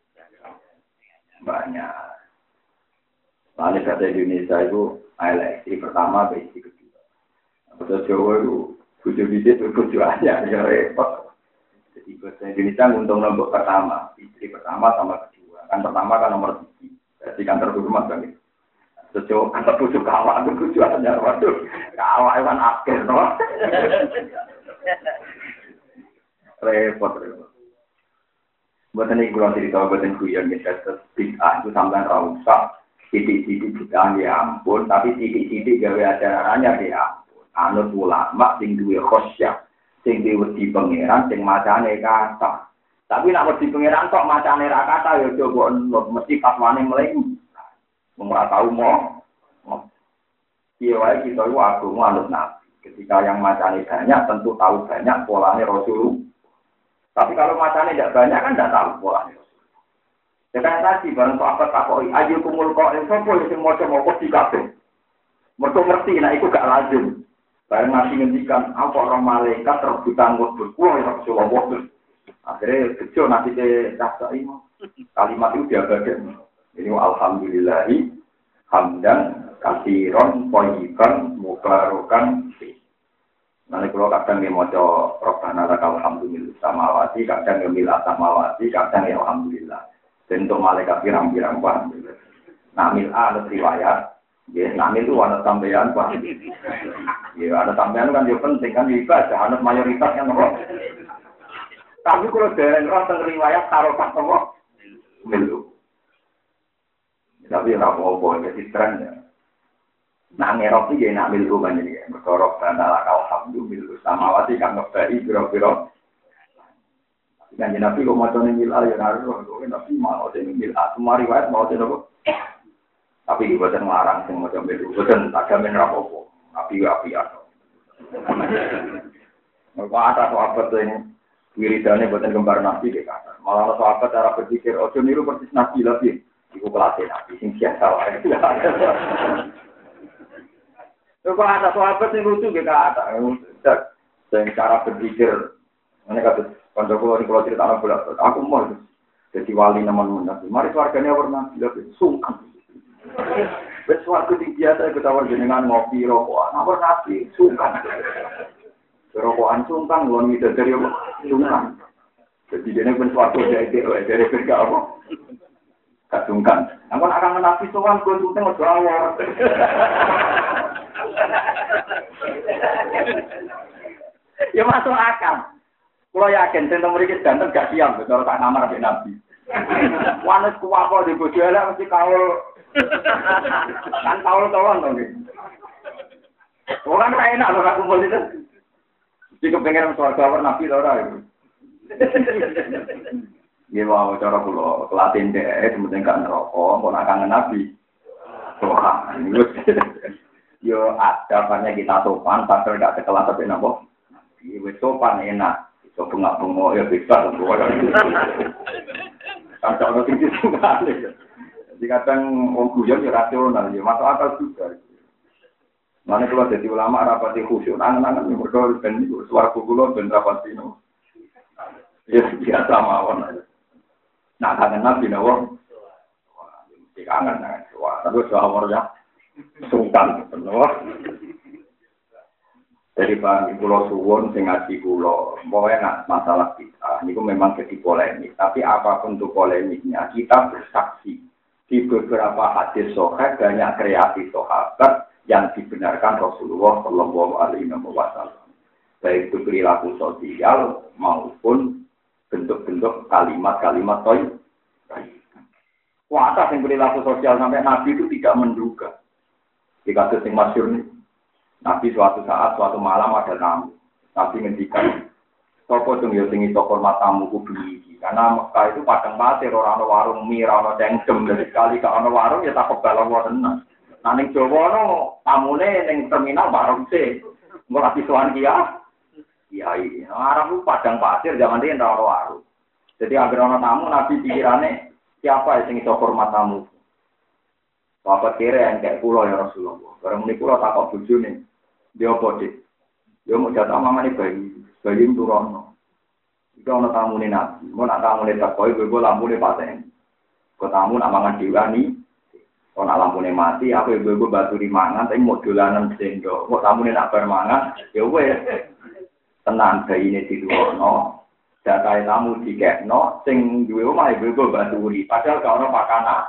Speaker 2: Banyak. Lalu kata Indonesia itu eleksi pertama, eleksi kedua. Kata Jawa itu tujuh bidit tujuannya ya repot. Jadi kata Indonesia untung nombor pertama, istri pertama sama kedua. Kan pertama kan nomor 3. Jadi kan terhormat kan. Sejauh kan tujuh kawak itu tujuannya. Waduh, kawak kan akhir no. Repot. Buatan ini kurang cerita, buatan kuyon kita bid'ah itu sampai rausak. Sidik-sidik bid'ah ya ampun, tapi sidik-sidik gawe ajarannya ya ampun. anut ulama sing duwe khosyah, sing diwedi pangeran, sing macane kata. Tapi nek wedi pangeran kok macane ra kata ya coba mesti fatwane mleng. Wong ora tau mo. Iya wae kita itu agama anut nabi. Ketika yang macane banyak tentu tahu banyak polanya Rasul. Tapi kalau macane tidak banyak kan tidak tahu polanya. Ya kan tadi barang sahabat takoi ayo kumul kok sapa sing maca moko dikabeh. Mergo ngerti nek iku gak lazim. Bareng nabi ngendikan apa orang malaikat rebutan ngubur kuwi ya Rasulullah. Akhirnya kecil nanti ke cakai kalimat itu diabadikan. Ini alhamdulillahi hamdan kasiron thayyiban mubarakan fi. Nanti kalau kadang dia maca Rabbana lakal hamdu mil samawati, kadang dia mil samawati, kadang ya alhamdulillah. Dan untuk malaikat pirang-pirang paham. Nah, mil'a ada riwayat. Ya, namil itu ada sampean paham. Ya, ada sampean kan dia penting kan ibadah, ada mayoritas yang apa. Tapi kalau dari orang tentang riwayat taruh apa? Milu. Tapi orang mau jadi trennya. Nah, ngerok itu ya namil rumah ini. Berkorok dan alakal hamdu milu samawati kan ngebai biro-biro. Dan Nabi kok macam ni mil ya harus Nabi mau jadi mil semua riwayat mau jadi apa? Tapi bukan melarang semua macam itu, bukan tak jamin rapopo. Nabi atau. Kalau ada sahabat yang wiridannya bukan gambar Nabi ke kata. Malah sahabat cara berpikir, ojo niru persis Nabi lagi. Iku kelasnya Nabi sing biasa wae. Kalau ada sahabat yang lucu ke kata, dan cara berpikir, ini kata. Kalau cerita anak bulan, aku mau jadi wali namun Nabi. Mari keluarganya warna Nabi, sungkan. Sesuatu yang biasa kita warga ngopi rokokan, namun Nabi sungkan. Rokokan sungkan, belum bisa dari apa? Sungkan. Jadi dia pun suatu dari kerja apa? Kasungkan. Namun akan Nabi sungkan, gue sungkan mau awal. Ya masuk akal. Kalau yakin, tentang mereka ganteng gak siap, kalau tak ngamar sampai Nabi. Wanes kuwako di bojola mesti kaul. Kan kaul-kaulan dong. Orang tak enak loh aku kumpul itu. Jika pengen suarga war Nabi tau ora. Ya mau cara kula kelatin deh, sementing gak neraka, kok nak kangen Nabi. Wah, yo ada banyak kita sopan, tapi gak sekelas sampai napa. Wis sopan enak. Kok bengak-bengok ya bisa semua. Kan kalau tinggi sekali. Jadi kadang orang guyon ya rasional, ya masuk akal juga. Mana kalau jadi ulama rapati khusyuk, angan-angan yang berdua dan suara kukulo dan rapati no. Ya biasa mawon. Nah kangen Nabi nawang, mesti kangen dengan suara. Tapi suaranya sungkan, benar. Dari bang pulau suwon sing ngaji pulau, pokoknya masalah kita, ini memang jadi polemik. Tapi apapun itu polemiknya, kita bersaksi di beberapa hadis sahih banyak kreasi sahabat yang dibenarkan Rasulullah Shallallahu Alaihi Wasallam. Baik itu perilaku sosial maupun bentuk-bentuk kalimat-kalimat toy. Kuasa yang perilaku sosial sampai Nabi itu tidak menduga. Di kasus yang masyhur ini. Nabi suatu saat, suatu malam ada tamu. Nabi ngendikan, sopo dong ya tinggi toko matamu kubeli. Karena Mekah itu padang pasir, orang warung mie, orang cengkem. Dari sekali ke orang warung ya tak kebalang warna. Nah, ning Jawa no tamune ning terminal warung sih. Nggak kasih suan kia. Iya. Arab itu padang pasir, zaman dia orang warung. Jadi agar orang tamu, Nabi pikirannya siapa yang tinggi toko matamu. Bapak kira yang kayak pulau ya Rasulullah. Barang ini pulau tak kok buju nih. Dia bodit. Dia mau jatuh mama nih bayi itu rono. Itu orang tamu nih Nabi. Mau nak tamu nih tak koi, gue lampu nih paten. Kau tamu nak mangan diwani. Kau nak lampu nih mati, aku gue batu di mangan. Tapi mau dolanan sendok. Kau tamu nih nak bermangan. Ya gue tenang bayi ini di rono. Datai tamu di kekno. Sing gue rumah gue batu di. Padahal kau orang makanan.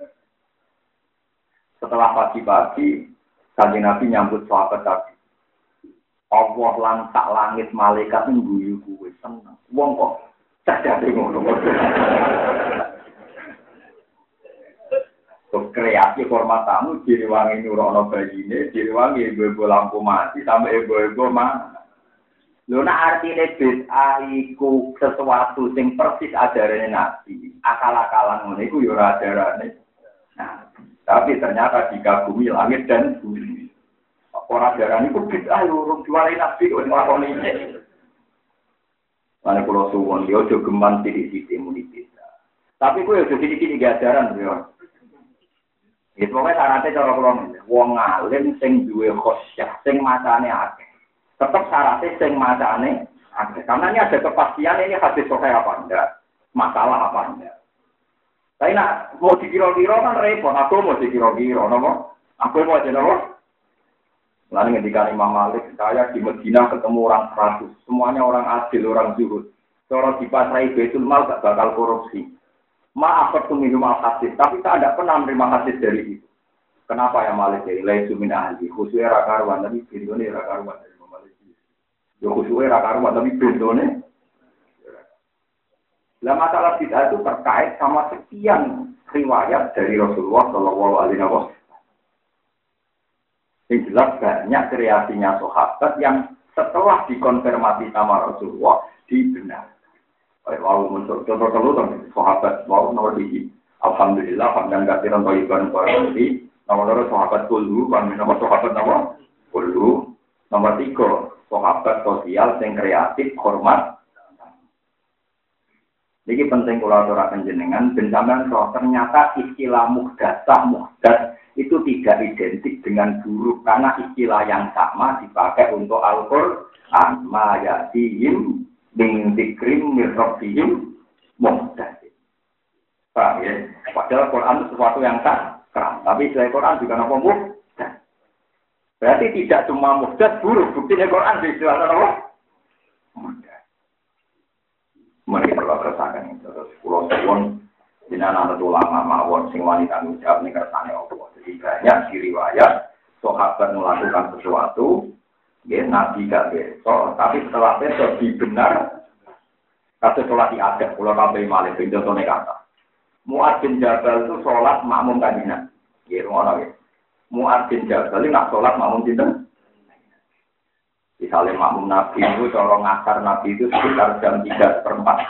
Speaker 2: Setelah pagi-pagi, Kanjeng Nabi nyambut sahabat tadi. Allah lantak langit malaikat ngguyu kuwe seneng. Wong kok cacate ngono. kreasi hormat tamu direwangi nurono bayine, direwangi ibu-ibu lampu mati sampai ibu-ibu mana. Lho nek artine bid'ah iku sesuatu sing persis ajarane Nabi. Akal-akalan ngene iku ya ora ajarane. Nah, tapi ternyata dikagumi langit dan bumi. Ora ajarane iku bid'ah yo urung diwarai Nabi kok nglakoni iki. Mane kula suwun yo aja geman sithik-sithik muni bid'ah. Tapi kuwi aja sithik-sithik ajaran yo. Itu pokoknya syaratnya cara kula wong alim sing duwe khosyah, sing macane akeh. Tetap syaratnya sing macane akeh. Karena ini ada kepastian ini hadis sahih apa enggak, masalah apa enggak. Tapi nak mau dikira-kira kan repot, aku mau dikira-kira, nopo? Aku mau aja nopo? Lalu ketika Imam Malik, saya di Medina ketemu orang 100, semuanya orang adil, orang zuhud. Kalau di pasrai Baitul Mal gak bakal korupsi. Maaf minum al-hadis, tapi saya tidak pernah menerima hadis dari itu. Kenapa ya Malik? Ilai sumin ahli, khususnya rakaruan, tapi bintone rakaruan dari Malik. Ya khususnya rakaruan, tapi bintone. Nah masalah bid'ah itu terkait sama sekian riwayat dari Rasulullah Shallallahu Alaihi Wasallam. Yang jelas banyak kreasinya sahabat yang setelah dikonfirmasi sama Rasulullah dibenarkan. Wow, untuk contoh sahabat wow nomor 3. Alhamdulillah hamdan katsiran thayyiban barokati. Nomor 2 sahabat kullu, nomor sahabat nomor 10. Nomor 3 sahabat sosial yang kreatif hormat. Ini penting kalau aturaken jenengan benjaman roh ternyata istilah muhdatsah itu tidak identik dengan buruk karena istilah yang sama dipakai untuk Al-Qur'an ma ya'tihim min dzikrim min rabbihim muhdatsin. Paham ya? Padahal Quran itu sesuatu yang sakral, tapi selain Quran juga apa muhdatsat. Berarti tidak cuma muhdatsat buruk, buktinya Quran dijelaskan apa? Muhdatsat. Mari kita rasakan itu terus pulau suwon jenengan anak ulama mawon sing wani tanggung jawab ning kersane Allah. Jadi banyak di riwayat sahabat melakukan sesuatu ya Nabi gak besok, tapi setelah besok dibenar kata sholat diadab, pulau kabeh malih contohne kata Mu'adz bin Jabal itu sholat makmum kanjeng ya ngono ya Mu'adz bin Jabal nak sholat makmum sinten misalnya makmum Nabi itu cara ngasar Nabi itu sekitar jam 3:4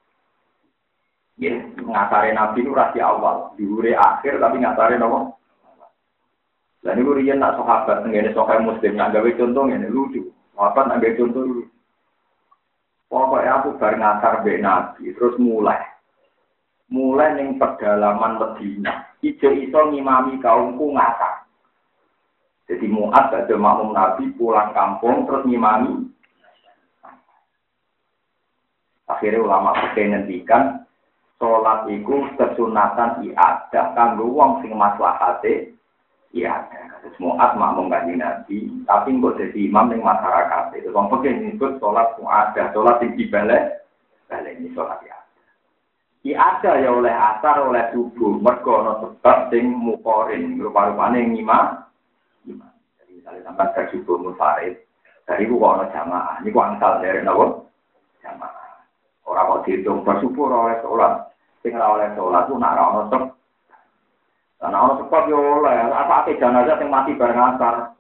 Speaker 2: ya ngasare Nabi itu rasi awal diure akhir tapi ngasare nopo. Lah niku riyen nak sahabat ngene sahabat muslim nak gawe contoh ngene lucu. Sahabat nak gawe contoh lucu. Pokoke aku bar ngasar mbek Nabi terus mulai ning pedalaman Medina. Iso ngimami kaumku ngasar. Jadi Mu'adz ada makmum Nabi pulang kampung terus ngimami. Akhirnya ulama fikih ngendikan salat iku kesunatan iadah kanggo wong sing maslahate iya, terus Mu'adz makmum kanjeng Nabi, tapi kok jadi imam ning masyarakat. Itu wong pengen nyebut salat mu'adah, salat sing dibalik ini salat ya. Ada ya oleh asar, oleh subuh, mergo ana sebab sing mukorin, rupa-rupane ngimam. Jadi misalnya sampai ke subuh munfarid, dari ku kok ana jamaah, niku angsal dari napa? Jamaah. Ora kok diitung bersubuh oleh salat. Sing ora oleh salat ku nak ora ana sebab. Karena orang sebab ya oleh, apa jenazah yang mati bareng asar.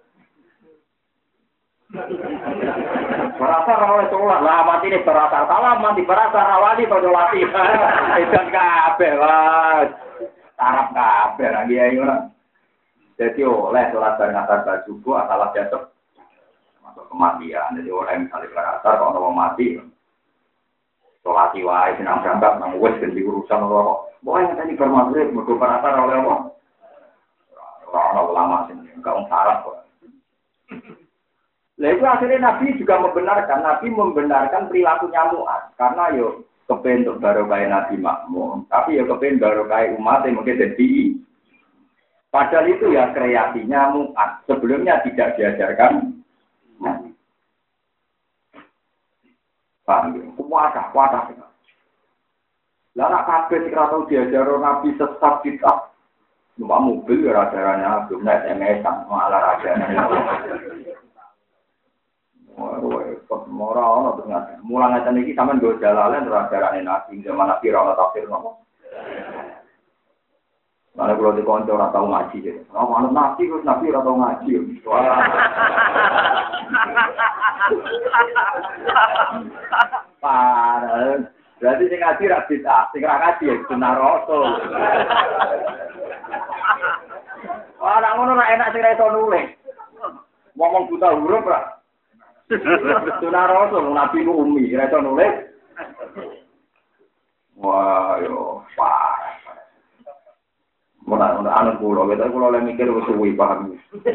Speaker 2: Berasar oleh sholat, lah mati ini berasar. Salah mati berasar, rawani pada latih. Edan kabeh lah. Tarap kabeh lagi ya orang. Jadi oleh sholat bareng asar pada subuh, asal jatuh. Masuk kematian, jadi orang yang misalnya berasar, kalau orang mati. Sholat wae senang berangkat, nang wes ganti urusan orang. Pokoknya tadi bermaksud mergo paratar oleh apa? Orang ulama sini, enggak syarat kok. Lah itu akhirnya Nabi juga membenarkan perilakunya Mu'adz karena yo kepen untuk barokah Nabi makmum, tapi yo kepen barokah umat yang mungkin jadi. Padahal itu ya kreasinya Mu'adz, sebelumnya tidak diajarkan Nabi. Paham ya? Kuatah. Lah nak kabeh sing ora tau diajaro Nabi sesat bid'ah. Numpak mobil ya ajarannya belum naik SMS-an malah ajarannya. Ora ono ternyata. Mulang ngeten iki sampean go jalalen ora ajarane Nabi zaman Nabi ora tafsir nopo. Mana kalau di konco ora tau ngaji gitu. Oh, manut nabi terus nabi ora tau ngaji. Parah. Berarti sing ngaji ra bid'ah, sing ra ngaji ya sunah rasul. Ora ngono ra enak sing ra iso nulis. Ngomong buta huruf ra. Sunah rasul nabi ku umi, ra iso nulis. Wah, yo parah. Mana anak pulau, kita pulau yang mikir suwi paham.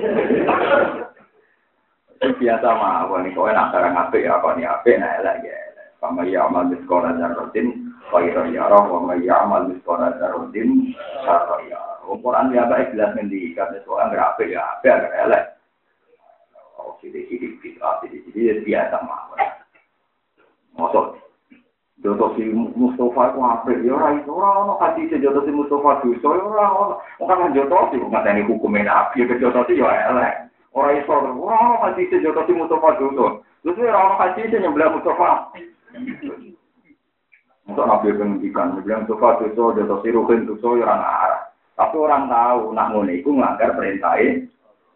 Speaker 2: Biasa mah, wani kau nak sarang ape ya, kau ni ape nak lagi. Kama ya amal di sekolah jarutin, kau ya roh, kama ya amal di sekolah jarutin, kau ya. Ukuran dia baik jelas mendi, karena seorang berape ya, ape agak elek. Oh, sidik biasa mah. Masuk. Jodoh si Mustafa itu apa? Ya orang hati si jodoh si Mustafa itu, orang kan jodoh si nggak ada hukumnya nabi, jodoh si ya elek. Orang Islam orang hati si jodoh si Mustafa itu, terus orang hati si nyembelih Mustafa. Untuk nabi pendidikan, nyembelih Mustafa itu jodoh si Ruhin itu orang arah. Tapi orang tahu nak ngono itu ngelanggar perintahnya.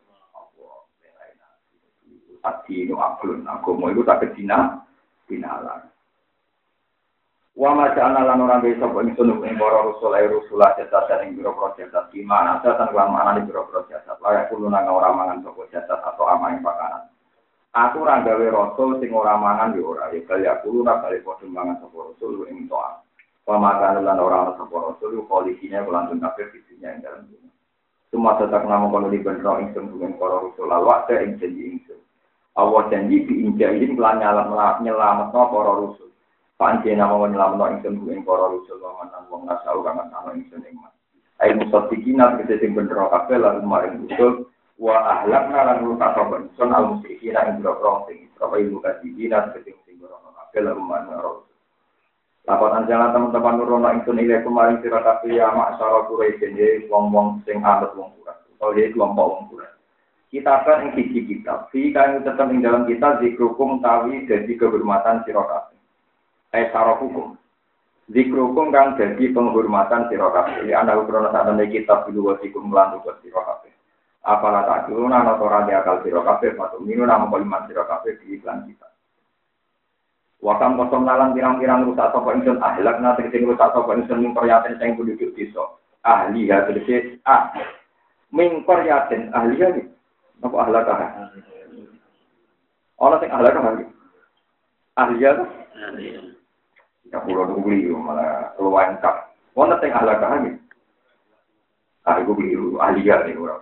Speaker 2: Hati itu aklun, agama itu tak kedina, dinalar. Wa ma ja'alna lan ora bisa kok ingsun ing para rasul jasad ing biro jasad di mana jasad lan mana di biro jasad layak kulo nang ora mangan sapa jasad atau amaing pakanan. Aku ora gawe rasul sing ora mangan yo ora ya kaya kulo ora kali padha mangan sapa rasul ing toa. Wa ma kana lan ora ana sapa rasul koalisine kelanjut kafir fisinya ing dalem dunya. Cuma tetap nama kono di bendro ingsun ing para rasul lalu ing janji ingsun. Allah janji diinjain kelan nyelametno para rasul. Panci nama menyelamatkan ingsun ing para rasul lan wong nasau kang ana ingsun ing mas. Ai musaddiqina kete sing bener kabeh lan maring usul wa ahlakna lan rukaban sun al musyrikina ing boro sing Israil mukadzibina kete sing bener kabeh lan maring rasul. Laporan jalan teman-teman nurono ingsun ile kemarin sira kabeh ya masyarakat Quraisy wong-wong sing anut wong kurat. Oh ya kelompok wong kurat. Kita kan ing siji kitab, fi kang tetep ing dalam kita zikrukum tawi dadi kehormatan sira kabeh. Secara hukum, zikrukum kang jadi penghormatan sira kabeh. Ana ukrono sakmene kitab dulu wasikum lan tugas sira kabeh. Apalah tak dulu ana ora akal sira kabeh patu minu nama kalimat sira kabeh di iklan kita. Wakam kosong nalang pirang-pirang rusak sapa ingsun ahlakna tegese rusak sapa ingsun ing peryaten sing penduduk desa. Ahli ya tegese ming peryaten ahli ya iki. Apa ahlakah? Ana sing ahlakah iki. Ahli ya. Ya pulau beli malah keluaran kap. Mana teng ahlak lagi? Aku beli ahliya nih orang.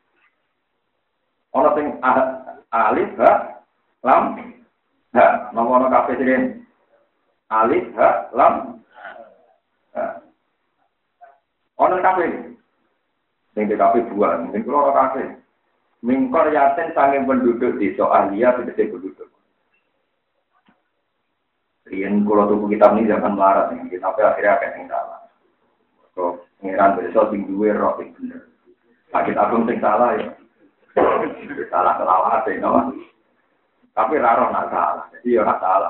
Speaker 2: Mana teng alif ha lam ha. Nama kafe sini alif ha lam ha. Mana kafe? Teng kafe buah. Teng keluar kafe. Mingkor yaten sange penduduk desa ahliya sedese penduduk. Rian kalau tubuh kitab ini jangan melarat nih, kitabnya akhirnya akan yang salah. Kalau pengiran besok tinggi roh yang bener. Sakit agung yang salah ya, salah kelawat ya, no? Tapi raro nak salah, jadi ya nak salah.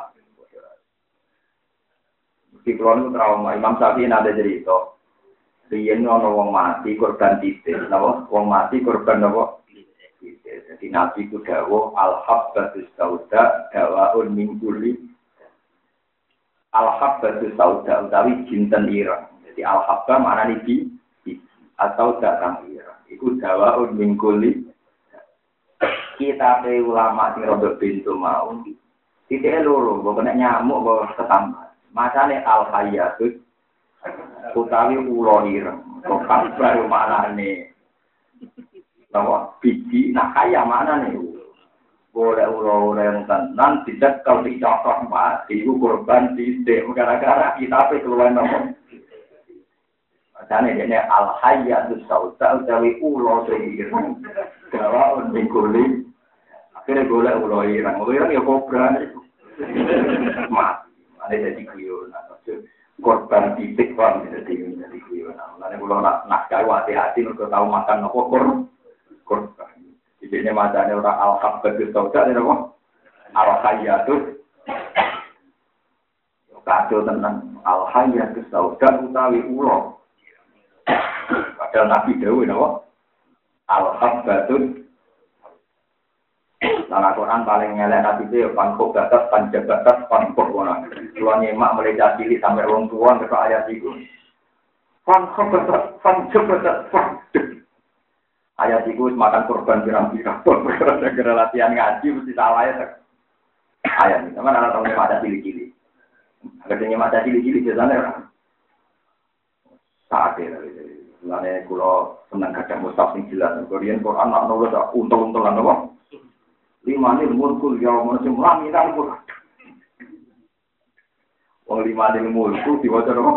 Speaker 2: Di kulon itu trauma, Imam Syafi'i ada cerita. Rian ono wong mati korban titik, no? Wong mati korban no? Jadi Nabi itu dawuh al-habbatus sauda dawaun min kulli al-habbatu sauda utawi jinten ireng. Jadi al-habba maknane biji atau datang ireng. Iku dawaun min kulli. Kita pe ulama sing rodok pintu mau. Titike loro, mbok nek nyamuk mbok ketambat. Masane al-hayyatut utawi ulo ireng. Kok kabar maknane bahwa biji nak kaya maknane boleh ulo-ulo tenan tidak kalau dicocok mati itu korban tidak gara-gara kita keluar nomor makanya ini al-hayyatus sauda utawi ulo ireng dawa mingkuli akhirnya boleh ulo ireng ya kobra mati ada jadi kuyon korban titik kan jadi kuyon makanya kalau nak hati-hati untuk tahu makan nopo korban. Jadi ini macamnya orang al-habbatus sauda ini apa? Al-hayyatus kacau tentang al-hayyatus sauda utawi ulo. Padahal Nabi dawuh napa? Al-habbatun. Nah, Al-Quran paling ngelak Nabi itu pangkuk batas, panjabatas, pangkuk wana. Tuan nyemak mulai cilik sampai orang tua ke ayat itu. Pangkuk batas, panjabatas, pangkuk. Ayat itu makan korban pirang-pirang. Gara-gara latihan ngaji mesti salah ya. Ayat ini, teman anak tahu nyemak ada cilik-cilik. Agar nyemak ada cilik-cilik biasanya. Saat ini. Mulane kula seneng kadang mustaf sing jelas. Korean Quran nak nulis untung-untungan apa? 5 nil mulkul yaum sing laminan kok. Wong 5 nil mulku diwaca apa?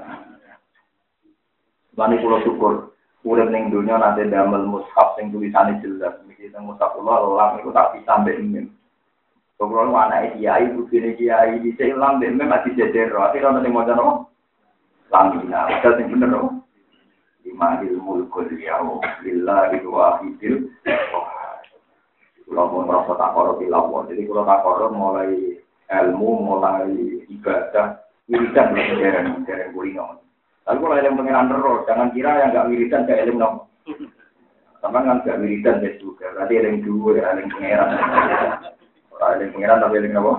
Speaker 2: Mulane kula syukur urip ning donya nate damel mushaf sing tulisane jelas. Iki teng mushaf kula lam iku tak bisa mbek mim. Kula anake kiai bukine kiai dhisik lam mbek mim ati jejer. Ati ana sing maca apa? Laminan. Ada sing bener apa? Imahil mulkul yaum lillahi wahidil kalau mau merasa tak korup di lawan, jadi kalau tak korup mulai ilmu, mulai ibadah, wiridan belum dereng kulino. Tapi kalau yang pengiran terus, jangan kira yang nggak wiridan kayak ilmu nom. Sama kan nggak wiridan juga, berarti yang dua, yang pengiran. Orang yang pengiran tapi yang apa?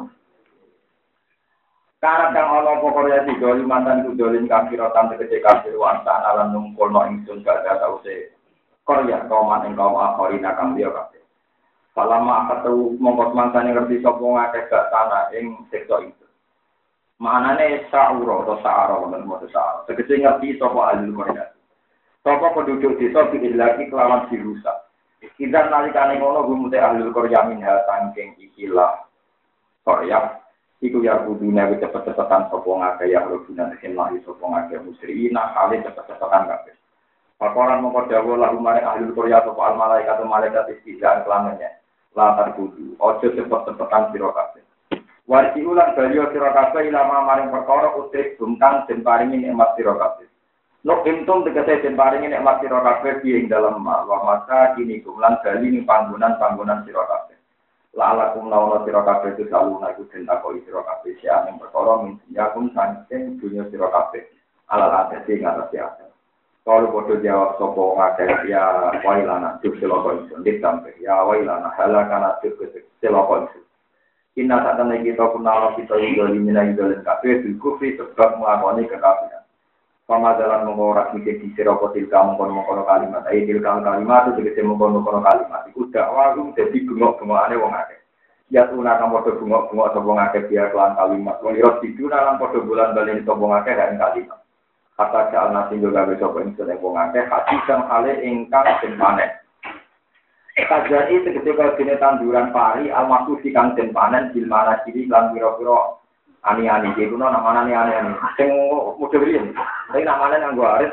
Speaker 2: Karena kang ana pokoknya digoli mantan kudolin kafirotan tegese kafir wantan alam nungkul no ingsun gak ada sause Korea kauman ing kaum akhirina kang liya kabeh. Salama ketemu mongkot mangkane ngerti sapa ngakeh gak tanah ing sektor itu. Manane sa'ura atau sa'ara wonten moto sa'ara. Tegese ngerti sapa ahli Korea. Sapa penduduk desa diilaki kelawan dirusak. Kita nalikane ngono gumute ahli Korea minha saking ikilah Korea. Iku ya kudune wis cepet-cepetan sapa ngake ya rubuna sing lahi sapa ngake musyrina kali cepet-cepetan kabeh. Pakoran mongko dawuh lagu mare ahli Korea sapa al malaikat malaikat istizaan kelamanya. Latar kudu ojo cepet-cepetan sira kabeh. Warti ulang baliyo sira kabeh ilama maring perkara utrik bungkang den paringi nikmat sira kabeh. Nok entum tegese den paringi nikmat sira kabeh ing dalem wa masa kini kumlan bali ning panggonan-panggonan sira kabeh. La'alakum launa sira kabeh itu saluna iku den takoni sira kabeh sia ing perkara minyakum saking dunya sira kabeh alal atase ngatasi ate. Kalau bodoh jawab sapa ngake ya wailana juk seloko iso ditampe ya wailana halakana juk seloko iso. Inna satane kita punala kita idoli mina idolin kabeh kufri sebab nglakoni kekafiran. Pamadalan mengora mikir di sira tilka mengkono kalimat tilka kalimat itu tegese mengkono kalimat iku dakwah dadi bengok-bengokane wong akeh ya tuna kang padha bengok-bengok sapa ngakeh dia kelan kalimat wong ira diduna lan padha bulan balen sapa ngakeh kan kalimat kata jalna sing gawe sapa ing wong akeh hati kang hale ingkang den panen Kajari tegese kaya dene tanduran pari almaku kang den panen bil mana ciri lan pira-pira ani-ani iki kuno namane ani-ani sing model riyen tapi namane nganggo arit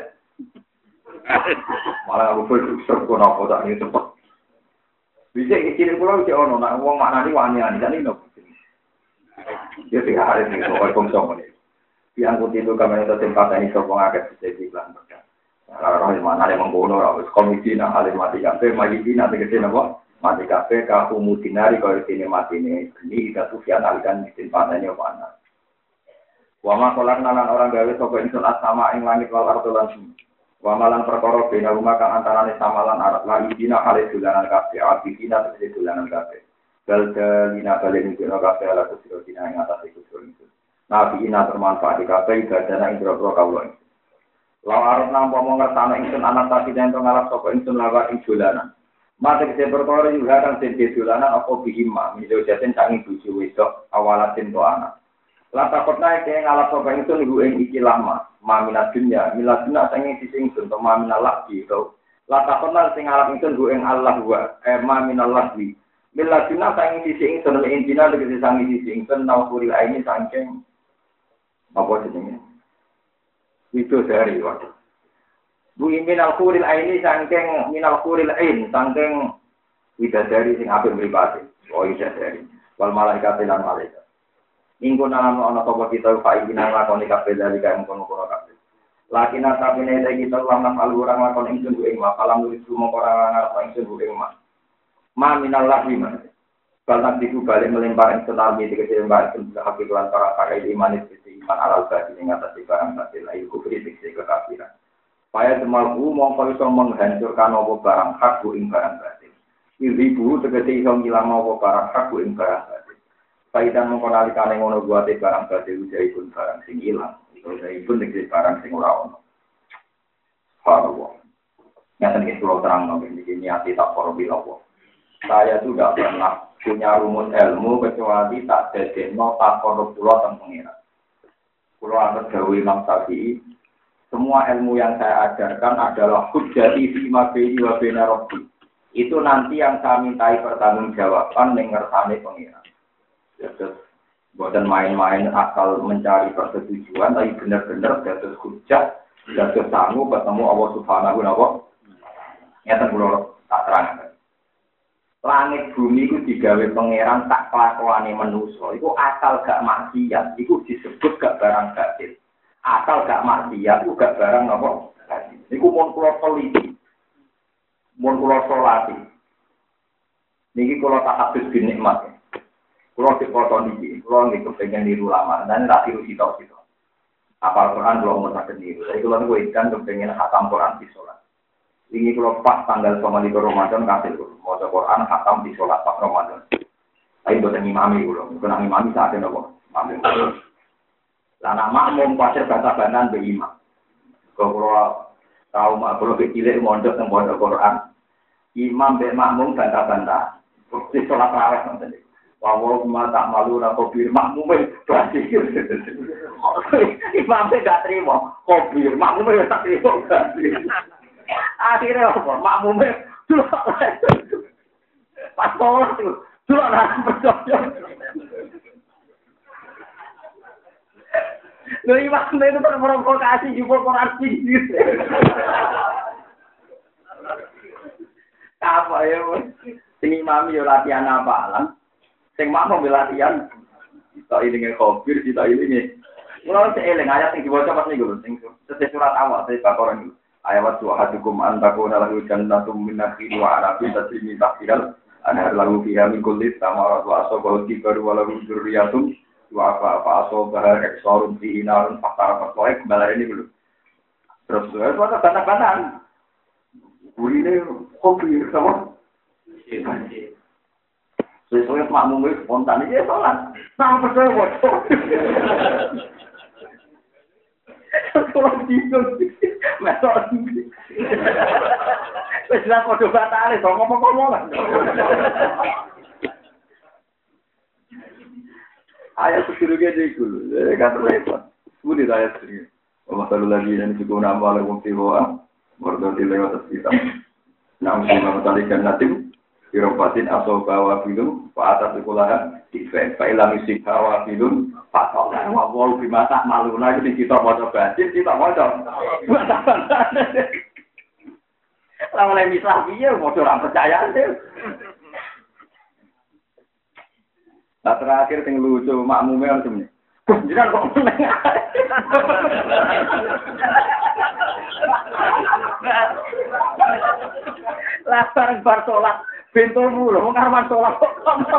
Speaker 2: malah aku full serko napa tak ini cepet bisa iki kulo iki ono nek wong maknani ani-ani kan iki ya sing arit iki kok konsum ini diangkut itu kamera itu tempat ini sopong agak bisa dibilang berkah kalau mana ada mengkono harus komisi nah alim mati kafe mati nanti kesini apa mati kafe kau mutinari kalau sini mati ini kita tuh sian alikan di tempatnya mana Wama kolak nalan orang gawe sapa ingsun asama ing langit wal ardo lan bumi. Wamalan perkara bena rumah kang antarane samalan arat la idina kale dolanan kabeh abidina tegese dolanan kabeh. Dalina balen iki ora kabeh ala kusira dina ing atas iku itu. Nabi ina bermanfaat di kabeh ibadana ing boro kawula. Lawan arep nampa mung ngertane ingsun anak tadi den ngalap sapa ingsun lawan ing dolanan. Mate kese perkara ing larang den dolanan apa bihima mijo jaten sangi bojo wedok awalatin to anak. Lata kota yang ngalap sopa itu nunggu yang iki lama, maminat dunia, milat dunia sange sising sun, maminat lagi tau. Lata kota yang ngalap itu nunggu yang Allah wa, maminat lagi. Milat dunia sange sising sun, intina dengan sange sising sun, nawfuril aini sangking apa jenenge? Itu dari waktu. Bu minal khuril aini sangking minal khuril ain, sangking widadari sing apik mripate. Oh widadari. Wal malaikat lan malaikat. Ingko nalam ana sapa kita faidina lakoni kabeh dari kaya mengkono-kono kabeh. Lakina sabene kita lan alurang lakon ingsun ku ing makalam nulis mongko ora ngarep ingsun ku ing ma minal lahim. Balak diku balik melempar ingsun almi dikece mbak ingsun hakik lan para iman itu iman alal badi ing atas barang batil ayo kufri dikece kekafiran. Supaya demalku mongko iso menghancurkan apa barang hak ing barang batin. Ibu tegese iso ngilang apa barang hak ing barang batin. Paidan mongko nalikane ngono buate barang batin ujahipun barang sing ilang. Ujahipun tegese barang sing ora ono. Subhanallah. Nyata nih pulau terang ini niati tak korbilawo. Saya juga pernah punya rumus ilmu kecuali tak dedekno tak korup pulau tentang pengira. Pulau atas gawe Imam Syafi'i. Semua ilmu yang saya ajarkan adalah hujjati fi ma baini wa baina rabbi. Itu nanti yang saya mintai pertanggungjawaban ning ngersane pengira. Terus bukan main-main asal mencari persetujuan, tapi benar-benar dados hujjah, dados sangu ketemu Allah Subhanahu wa taala. Nyata kula tak terangkan. Langit bumi itu digawe pangeran tak kelakuane manusa. Iku asal gak maksiat, iku disebut gak barang batil. Asal gak maksiat, iku gak barang napa? Iku mun kula teliti. Mun kula salati. Niki kula tak habis binikmat. Kula dipoto niki, kula niki kepengin niru lama dan tak tiru sitok-sitok. Apal Quran kula mau tak niru. Jadi kula niku ikan kepengin khatam Quran di salat. Ini kalau pas tanggal 25 Ramadan kasih mau Quran khatam di salat pas Ramadan. Tapi buat imami kula, bukan imami saat ini kok. Lah makmum pasir basa-basan be imam. Kalau tahu kalau kecil mondok teng pondok Quran. Imam be makmum bantah-bantah. Di salat tarawih nanti. Wawah tak malu nak kopir makmum berarti. Imam gak terima kopir makmum tak terima. Akhirnya apa? Makmumnya dulu pas sholat itu dulu nak percaya. Loh imamnya itu terprovokasi jumpa Quran tinggi. Apa ya? Sing imam yo latihan apalan. Sing makmum latihan. Kita ini ngekopir, kita ini. Mulai seeling ayat yang dibaca pas niku lho, sing surat awal dari Baqarah niku. Ayat suhadukum antakuna lahu jannatum min nakhil wa anabin tajri min tahtiha anhar lahu fiha min kulli thamarat wa asabahu tibaru wa lahu dzurriyyatun wa fa asabaha iksarun fihi narun fatara fatwa kembali ini dulu. Terus itu ada tanda-tanda. Burine kopi sama. Sesuai makmum itu spontan aja sholat. Sama percaya bocor. Kalau bingung, mesok ini. Sudah kode batal, so ngomong-ngomong. Ayat sekirunya dulu, kan repot. Sudah ayat sekirunya. Masalah lagi yang cukup nama lagu tiwa, berdiri lewat kita. Namun nama tadi kan nanti, Iropatin asal bawa film, Pak atas sekolahan, Pak ilang isi bawa film, Pak Tolong, mau dimasak malu lagi kita mau coba, kita mau coba. Lama lagi mislah dia, mau orang percaya deh. Nah terakhir yang lucu, makmumnya macam ni. Jangan kok menengah. Lapar bersolat. Pintumu loh, mau ngarman sholat kok.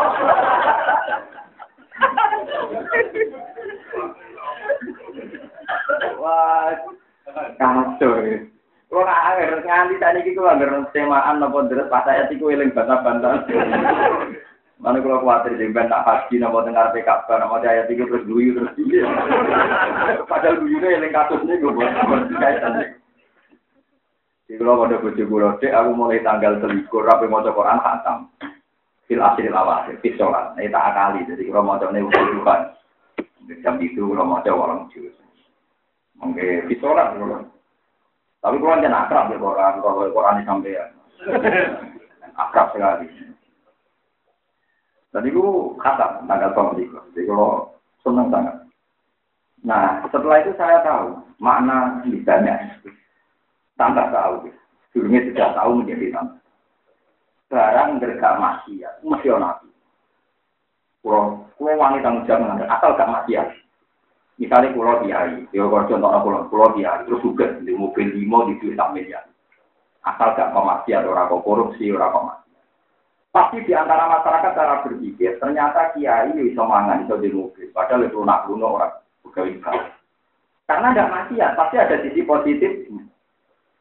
Speaker 2: Wah, kacau ya. Kalau nganti tadi kita nggak semaan nopo terus pas saya tiku eling bantah-bantah. Mana kalau khawatir jemben tak haji nopo dengar PKB nopo saya tiku terus guyu terus dia. Padahal guyunya eling kasusnya gue buat kaitan. Di kalau pada bojo kula cek aku mulai tanggal 23 rapi maca Quran khatam. Fil asril awakhir fi sholat. Nah tak akali jadi kalau macane wuduhan. Jam itu kalau maca orang juz. Mangke fi sholat kula. Tapi kula jangan akrab ya Quran kalau Quran sampean. Akrab sekali. Tadi ku khatam tanggal 23. Jadi kalau senang sangat. Nah, setelah itu saya tahu makna lidahnya. Tambah tahu, dulunya tidak tahu menjadi tambah. Barang bergak maksiat, mesti nabi. Kalau wangi tanggung jawab asal gak maksiat. Misalnya kalau diari, kalau contohnya kalau diari, terus juga di mobil 5 di duit tak miliar. Asal gak maksiat, orang korupsi, orang maksiat. Pasti di antara masyarakat cara berpikir, ternyata kiai bisa mangan, bisa di mobil. Padahal itu lunak-lunak orang pegawai. Karena ada maksiat, pasti ada sisi positif.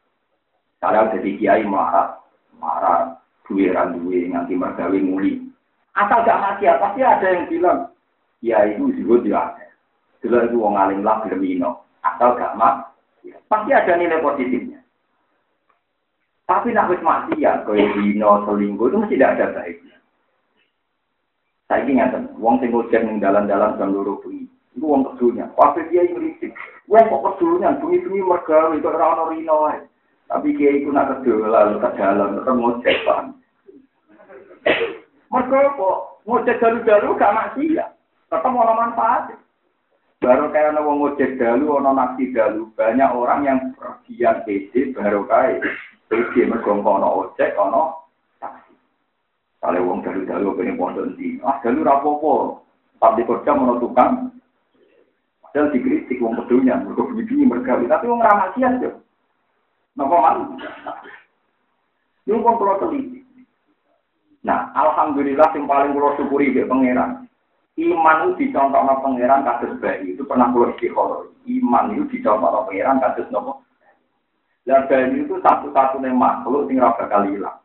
Speaker 2: Kalau jadi kiai marah, duwe nganti mergawe muli. Asal gak maksiat, pasti ada yang bilang, ya itu juga dia. Dulu itu wong alim lah bermino, asal gak maksiat. Pasti ada nilai positifnya. Tapi nak wis maksiat, kaya dino selingkuh itu mesti tidak ada baiknya. Saya ingat, wong sing ngojek ning dalan-dalan jam 2 bengi. Iku wong kedunya. Waktu dia ngritik, wong kok kedunya bengi-bengi mergawe kok ora ono rino wae. Tapi kiai iku nak kedolan ke dalan terus ngojek Pak. Mergo kok ngojek dalu-dalu gak maksiat. Tetep ono manfaat. Baru kayak ono wong ngojek dalu, ono naksi dalu, banyak orang yang pergian PD baru kae. Iki mergo ono ojek, ono taksi. Kalau wong dalu-dalu pengen pondok ndi, dalu ra apa-apa. Tapi kerja ono tukang. Padahal dikritik wong kedunya, mergo begini mergawe, tapi wong ra maksiat yo. Napa man? Yo wong kula teliti. Nah, alhamdulillah yang paling kula syukuri ke pangeran. Iman itu dicontohna pangeran kados bayi. Itu pernah kula istikharah. Iman itu dicontohna pangeran kados napa? Lah bayi itu satu-satunya makhluk sing ora bakal ilang.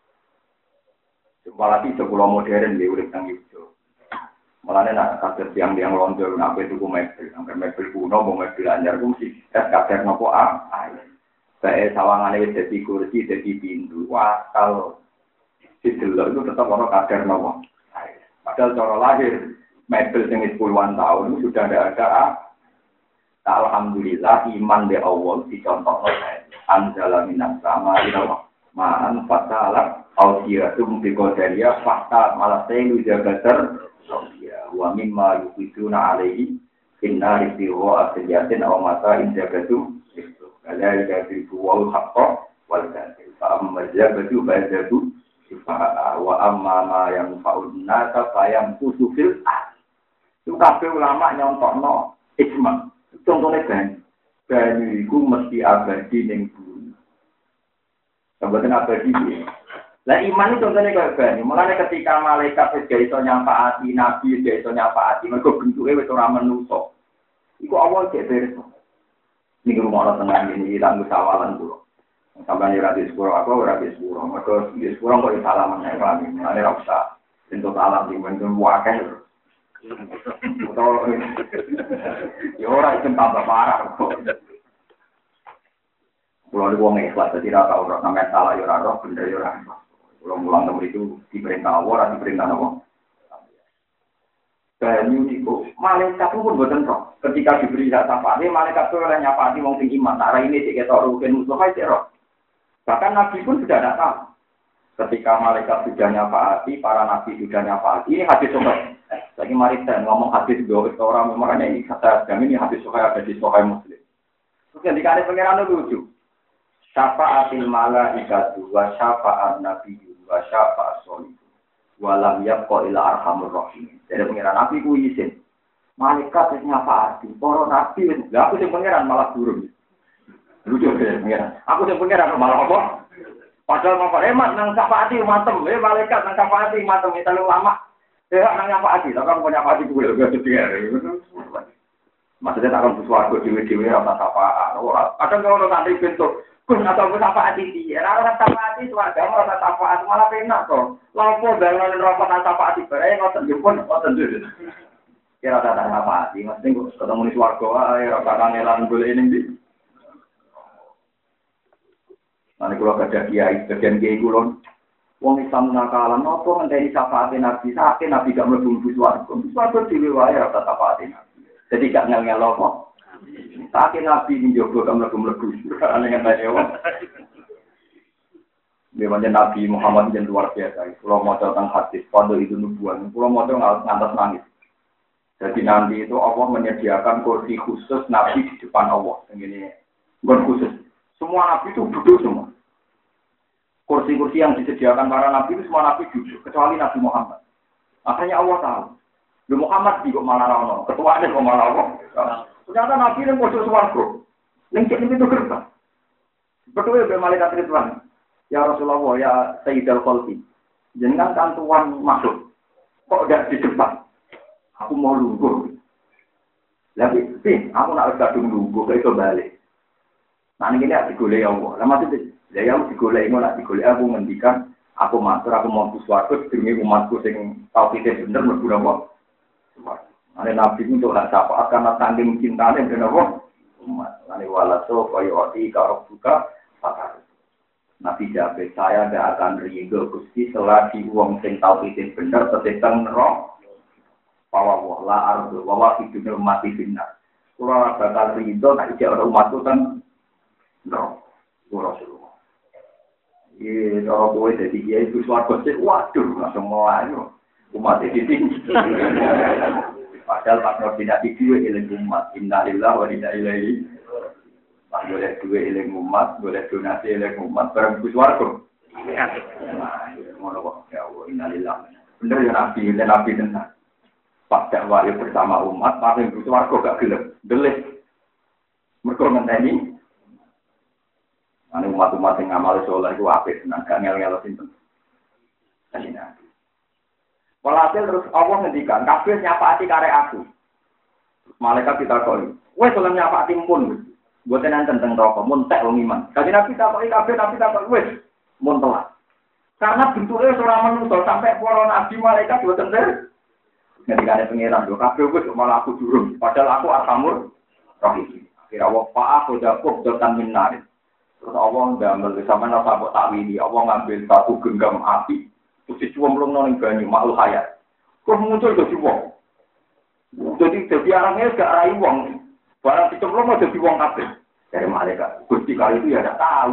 Speaker 2: Apalagi sekolah modern di urip nang itu. Mulane nak kados yang londo nak tuku mebel, sampai mebel kuno mau mebel anyar ku mesti kader napa Saya sawangane wis dadi kursi, dadi pintu. Wah, kalau didelok itu tetap ono kader napa. Padahal cara lahir mebel sing wis puluhan tahun itu sudah ada. Alhamdulillah iman be Allah dicontohno anzala minas sama ila ma'an fatala audiyatum bi qadariya fakta malah telu jagater ya wa mimma yuqiduna alaihi inna rifiwa asyatin aw mata in jagatum Alai dari wal haqqa wal batil. Fa amma jabatu ba'datu sifa'a wa amma ma yang fa'un nasa sayam kusufil itu kabeh ulama nyontokno ijma. Contohnya banyu iku mesti abadi ning bumi. Sampeyan abadi iki. Lah iman itu contohnya kaya banyu. Mulane ketika malaikat wis iso nyafaati, nabi wis iso nyafaati, mergo bentuke wis ora menungso. Iku awal cek beres. Ini rumah orang tenang ini tak musawalan dulu. Sampai ora di sepuro aku ora di sepuro. Mergo di sepuro kok salaman nek lagi. Ane ra usah. Entuk salam di mendung wae. Yo ora iso tambah parah kok. Kulo wong ikhlas dadi ra tau ora sampe salah yo ora roh bener yo ora. Kulo mulang temu itu diperintah Allah ora diperintah apa. Banyu niku malaikat pun boten roh. Ketika diberi hak syafaat, malaikat itu oleh nyafaati wong sing iman. Nah, ini diketok rugen musuh ae roh. Bahkan nabi pun sudah ada tahu. Ketika malaikat sudah nyafaati, para nabi sudah nyafaati. Ini hadis sahih. Lagi mari saya ngomong hadis dua orang makanya ini kata kami ini hadis sahih ada di Sahih Muslim. Terus yang dikali pangeran lucu. Syafa'atil malaikatu wa syafa'an nabiyyu wa syafa'as sholih. Walam yabqa ila arhamur rahim. Jadi pengiran nabi ku izin. Malaikat wis nyafaati, para nabi wis. Lah aku sing pengiran malah durung. Lucu ya pengiran. Aku sing pengiran malah apa? Padahal mau hemat nang syafaati matem, malaikat nang syafaati matem itu lama. Nang syafaati, tapi aku punya syafaati kuwi lho maksudnya tak akan swarga dhewe-dhewe ora syafaat. Kadang kalau santri bentuk Gus atau gue syafaat iki, ora syafaat iki swarga ora syafaat malah penak to. Lapo dalane rokok syafaat bare ngoten jupun ngoten dhewe. Kira tak syafaat iki, mesti kok ketemu di swarga ae ora kangelan golek ning ndi. Mane kula kada kiai, bagian kiai kula wong Islam nakalan napa ngenteni syafaat Nabi, sakit Nabi gak mlebu swarga. Swarga dhewe wae ora syafaat Nabi. Jadi gak ngel-ngel apa. Sakit Nabi ini juga kamu melebu-melebu. Aneh yang tanya apa. Memangnya Nabi Muhammad yang luar biasa. Kalau mau tentang hadis, pada itu nubuan. Kalau mau ngantas nangis. Jadi nanti itu Allah menyediakan kursi khusus Nabi di depan Allah. Ini bukan khusus. Semua Nabi itu duduk semua. Kursi-kursi yang disediakan para Nabi itu semua Nabi duduk. Kecuali Nabi Muhammad. Makanya Allah tahu. Muhammad di kok malah rono, ketuanya kok malah apa? Ternyata Nabi yang pojok swarga. Ning cek itu gerbang. Betul ya malaikat Ridwan. Ya Rasulullah ya Sayyidul Khalqi. Jenengan kan tuan masuk. Kok enggak di depan? Aku mau lungguh. Lagi, aku nak gadung lungguh ke itu balik. Nah ini aku digoleki Allah. Lah maksudnya ya aku digoleki ngono digoleki aku ngendikan aku matur aku mau swarga demi umatku sing tauhide bener mlebu neraka. Ane nabi untuk hak syafaat karena tanding cintane ben apa? Umat. Ane walaso kaya ati karo buka pakar. Nabi jawab saya tidak akan ridho Gusti selagi wong sing tauhide bener tetep neraka. Bahwa la ardu wa hidupnya mati benar. Kula bakal ridho nek iki ora umatku kan no, Rasulullah. Iya, kalau boleh jadi dia itu suatu sih, waduh, langsung mulai umat itu tinggi. Padahal Pak Nur tidak dua ilang umat, innalillah wa inna ilaihi. Pak boleh dua ilang umat, boleh donasi ilang umat, barang suatu. Nah, ngono kok ya Allah, innalillah. Bener ya nabi tenang. Pak dakwah bersama umat, paling suatu gak gelem, gelis. Mereka ngenteni. Ane umat-umat yang ngamal soleh itu apik, senang gak ngel-ngel sinten. Walhasil terus Allah ngendikan, kabeh nyapaati karek aku. Malaikat kita koi, wes oleh nyapaati pun, buatan enten tentang rokok, muntek wong iman. Kaji nabi takoi kabeh, nabi takoi wes, muntelah. Karena bentuknya seorang manusia sampai para nabi malaikat buatan ter. Ngendikan pengiran, kabeh wes malah aku durung, padahal aku arhamur rahim. Akhirnya Allah aku jakup dotan minarin. Terus Allah ngambil sama nafsu takwili, Allah ngambil satu genggam api, terus dicuwom nang banyu makhluk hayat. Terus muncul jadi wong. Jadi orangnya gak rai wong. Barang dicemplung jadi wong kabeh. Dari malaikat. Gusti kali itu ya tidak tahu.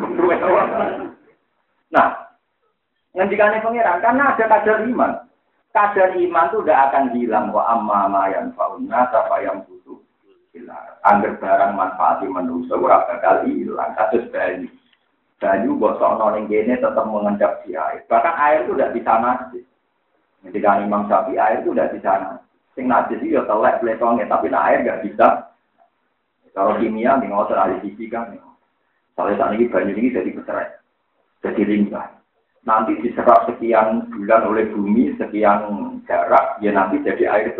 Speaker 2: Nah, ngendikannya pangeran karena ada kadar iman. Kadar iman itu tidak akan hilang wa amma ma yanfa'unna apa yang butuh. Angger barang manfaati manusia ora bakal hilang kasus banyu. Banyu bosokno ning kene tetap mengendap di air. Bahkan air itu tidak bisa najis. Ketika Imam Syafi'i air itu tidak bisa najis. Sing najis itu ya telek pletongnya tapi air enggak bisa. Kalau kimia ning ngoten ahli fisika nih. Soalnya saat ini banyu ini jadi bercerai. Jadi limbah. Nanti diserap sekian bulan oleh bumi, sekian jarak, ya nanti jadi air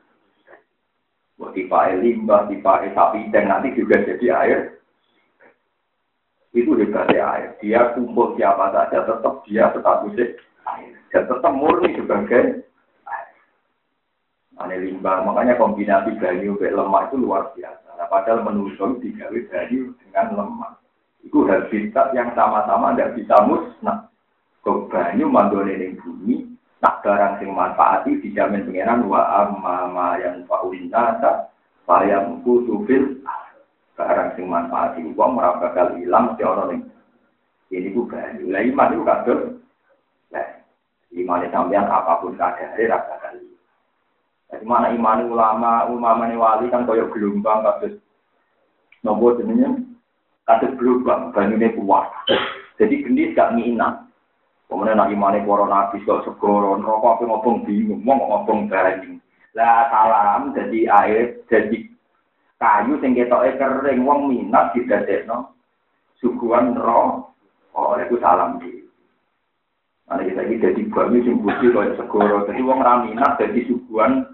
Speaker 2: tipe limbah, tipe sapi dan nanti juga jadi air. Itu hebatnya air. Dia kumpul siapa saja tetap dia statusnya air. Dan tetap murni sebagai air. Ini limbah. Makanya kombinasi banyu dan lemak itu luar biasa. Nah, padahal menusuk digawe banyu dengan lemak. Itu habitat yang sama-sama tidak bisa musnah. Kok banyu mandone ning bumi. Tak barang sing manfaati dijamin pengenan wa amma yang fa'ulinata sayang kutufil barang sing manfaati wong ora bakal ilang mesti ana ning ini ku banyu la iman itu kabeh lah iman sampeyan apapun kadare ra bakal jadi mana iman ulama ne wali kan koyo gelombang kabeh nopo jenenge kabeh gelombang banyune kuat jadi gendis gak nginang. Kemudian nak imane para nabi kok segoro neraka apa ngobong bingung mau ngobong banyu. Lah salam jadi air jadi kayu sing ketoke kering wong minat didadekno suguhan neraka. Oh iku salam iki. Ana kita iki dadi banyu sing putih kaya segoro. Dadi wong ra minat dadi suguhan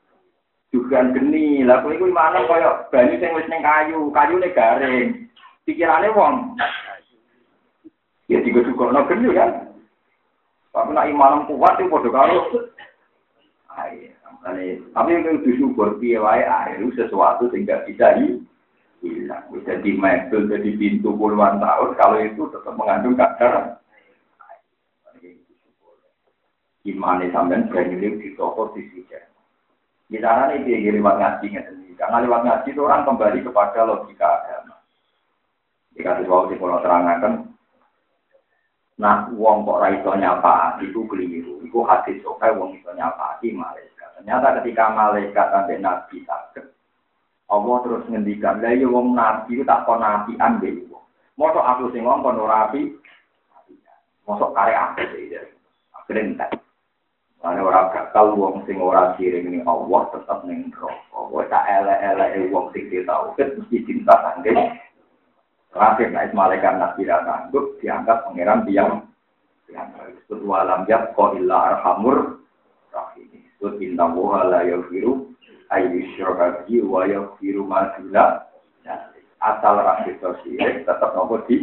Speaker 2: geni. Lah kowe iku imane kaya banyu sing wis ning kayune garing. Pikirane wong ya digodhogno geni kan. Tapi nak imanam kuat itu bodoh kalau air. Tapi yang disyukur piye wae air itu sesuatu yang tidak bisa hilang. Bisa di mebel, jadi pintu puluhan tahun kalau itu tetap mengandung kadar air. Imane sampean berani di toko di sini. Di sana ini dia lewat ngaji ngerti. Karena lewat ngaji itu orang kembali kepada logika agama. Jika sesuatu di pulau terangkan. Nah, wong kok ra iso nyapa itu keliru. Iku hadis sokai wong iso nyapa malaikat. Ternyata ketika malaikat sampai nabi saged, Allah terus ngendikan, "Lah ya wong nabi itu tak kon nabian dhewe." Mosok aku sing ngomong ora api. Mosok karek aku iki. Akhire entek. Ana ora bakal wong sing ora siring ning Allah tetep ning neraka. Wong tak elek-eleke wong sing tauhid mesti cinta sange. Terakhir, naik malaikat nabi sanggup diangkat pangeran yang disebut walam yab ko illa arhamur rahim. Disebut inna woha la yaghfiru ayyusyraka bihi wa yaghfiru ma duna. asal rakyat sirik tetap nopo di.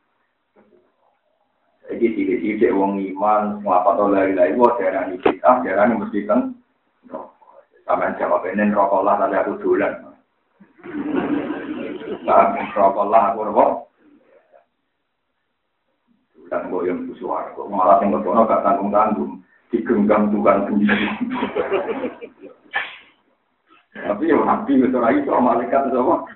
Speaker 2: Jadi sidik wong iman nglapat oleh lagi wae darani kita, darani mesti kan. Sampeyan jawab ini rokok lah tapi aku dolan. Rokok lah aku rokok. Dan goyang suara, kok malah yang berdoa gak tanggung-tanggung, digenggam Tuhan sendiri. Tapi ya nabi itu lagi soal malaikat itu apa?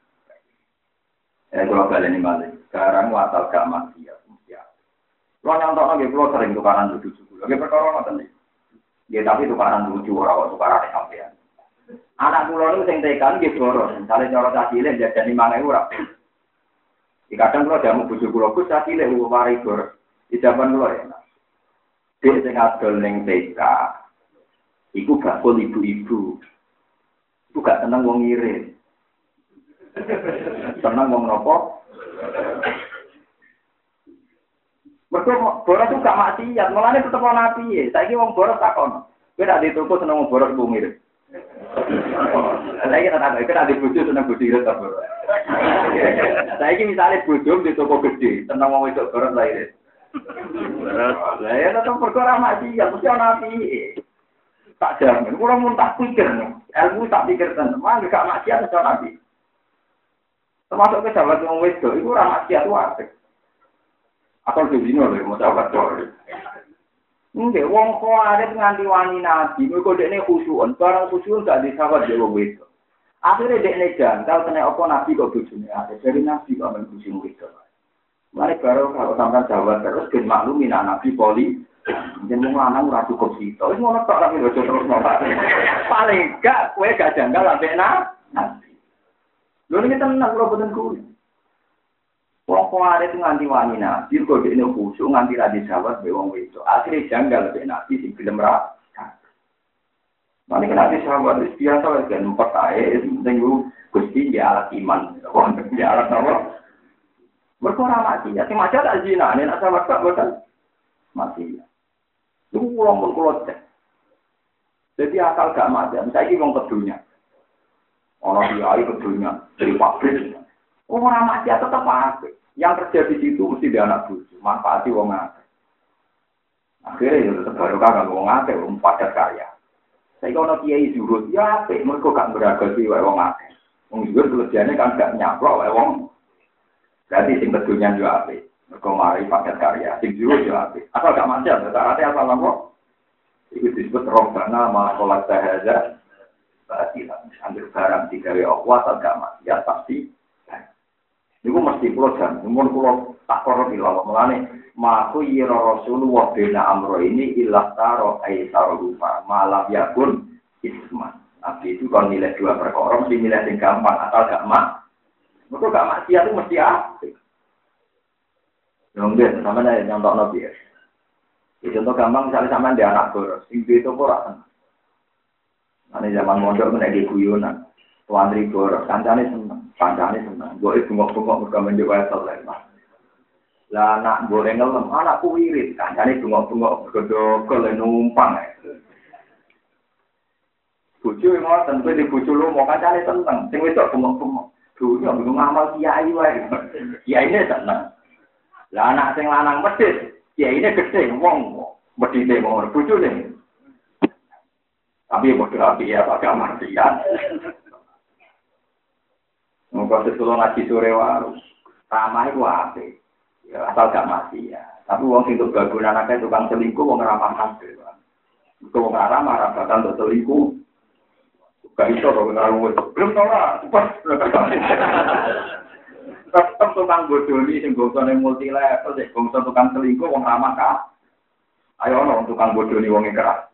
Speaker 2: Kalau kalian ini balik, sekarang watal gak maksiat. Kalau nyontok lagi, kalau sering tukaran lucu lagi perkara apa nih? Ya tapi tukaran lucu orang tukaran sampean. Anak pulau itu sing tekan gitu boros, misalnya cara cacile jadi 5.000 orang. Di kadang kalau jamu bujuk pulau pun cacile mari boros. Di zaman pulau ya. Dia sing adol ning TK. Iku bakul ibu-ibu. Iku gak seneng wong ngirit. Seneng wong nopo? Mergo boros itu gak maksiat, mulane tetep ana piye. Saiki wong boros takon. Kowe nek dituku seneng wong boros ku ngirit. Saiki tak ada bojo seneng bojo ngirit ta boros. Saiki misale bojo di toko gede, seneng wong wedok boros la irit. Lah ya tetep perkara maksiat, mesti ana piye. Tak jamin, kula mun tak pikir, ilmu tak pikir tenan, mangke gak maksiat iso nabi. Termasuk ke sahabat wong wedok iku ora maksiat wae. Atau dino lho mau sahabat dhewe. Nggih, wong khawarij nganti wani nabi, mergo dekne khusyuk, barang khusyuk gak disawat dhewe wedok. Akhire dekne jangkal kena apa nabi kok bojone ate, dari nabi kok men khusyuk wedok. Mari karo kalau sampean jawab terus ben maklumi nabi poli jeneng lanang ora cukup sito. Wis ngono tok tapi ojo terus nolak. Paling gak kowe gak janggal ambek nabi. Lho niki tenan kula boten kuwi. Wong khawarij nganti wani nabi kok dekne khusyuk nganti ra disawat be wong wedok. Akhire janggal ambek nabi sing gelem ra. Mane kena disawat wis biasa wae kan empat ae sing Gusti ya alat iman. Wong ya alat apa? Berkorang mati, ya. Si macam tak zina, ni nak sama tak betul mati. Itu pulang pun keluar. Jadi asal gak mati, saya ini orang kedunya. Orang dia air kedunya dari pabrik. Orang mati tetap pabrik. Yang kerja di situ mesti dia anak bucu, manfaati wong akeh. Akhirnya ya tetap baru kagak wong akeh, wong padat karya. Saya kalau kiai zuhud, ya apik, mereka gak beragasi wong akeh. Wong zuhud kerjanya kan gak nyaplok wong. Berarti sing kedunya juga apik. Mergo mari paket karya, sing jero juga apik. Asal gak macam, rata-rata asal apa? Itu disebut rombana malakolat sahaja. Berarti ambil barang digawe Allah atau gak maksiat pasti. Niku mesti kula jan, mun kula tak karo ilal mulane maku yira Rasulullah bena amro ini ilah taro aisar rupa malam yakun isman. Nabi itu kalau nilai dua perkara mesti nilai sing gampang asal gak Mereka gak maksiat itu mesti apik. Nggih, sampeyan nyontok nabi ya. Contoh gampang misalnya sampean di anak boros, sing itu ora seneng. Ane zaman mondok menaiki guyonan. Tuandri boros, kancane seneng, seneng. Mbok bengok-bengok mergo menjuk wae saleh. Lah anak boleh ngelem, anakku wirid, kancane bengok-bengok mergo dogol numpang. Bojo ngoten, kowe di bojo lu mau kancane seneng, sing wedok bengok-bengok. Dunia belum amal kiai wae. Kiai ini seneng. Lah anak sing lanang medhit, kiai ini gede wong medhite mau bojone. Tapi bodoh api ya pakai maksiat. Monggo sekolah ngaji sore wae. Ramah iku apik. Ya asal gak maksiat. Tapi wong sing tok bagunan akeh tukang selingkuh wong ramah kabeh. Kok wong ramah ra bakal tok selingkuh. Gak iso kok ngaruh. Belum ora, cepat. Tetep tukang bodoni sing gosone multi level, sing gosone tukang selingkuh wong ramah ka. Ayo ono tukang bodoni wong keras.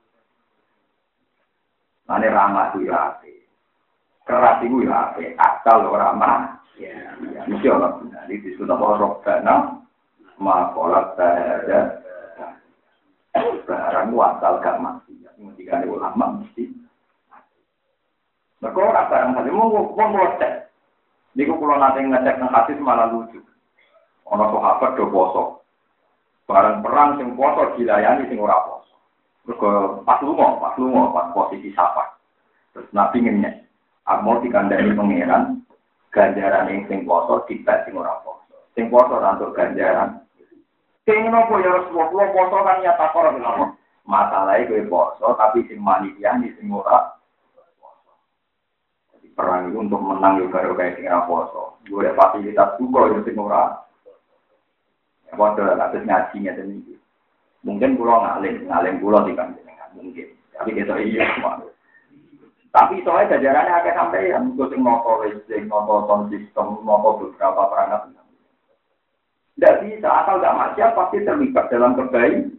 Speaker 2: Ane ramah ku ya apik. Keras iku ya apik, asal ora ramah. Ya, mesti ono. Jadi disebut apa robbana ma qolat ada. Barang wasal gak mati. Mesti kan ulama mesti. Mereka orang barang saja, mau ngecek. Ini kalau nanti ngecek nang hadis malah lucu. Orang sahabat do poso. Barang perang sing poso dilayani sing ora poso. Mereka pas posisi sapa. Terus Nabi ngenyek. Mau dikandani pangeran, ganjaran sing poso dibak sing ora poso. Sing poso untuk ganjaran. Sing nopo ya Rasulullah poso kan ya takor lho. Masalahe kowe poso tapi sing manitiani sing ora poso. Jadi perang itu untuk menang yo karo kae sing ora poso. Golek fasilitas juga yo sing ora. Ya padha atus ngaji ngeten iki. Mungkin kula ngalim kula dikanjenengan mungkin. Tapi kita iya semua. Tapi soalnya jajarannya agak sampai yang sing noto listrik, noto sound system, noto beberapa perangkat. Tidak bisa, asal tidak maksiat pasti terlibat dalam kebaikan.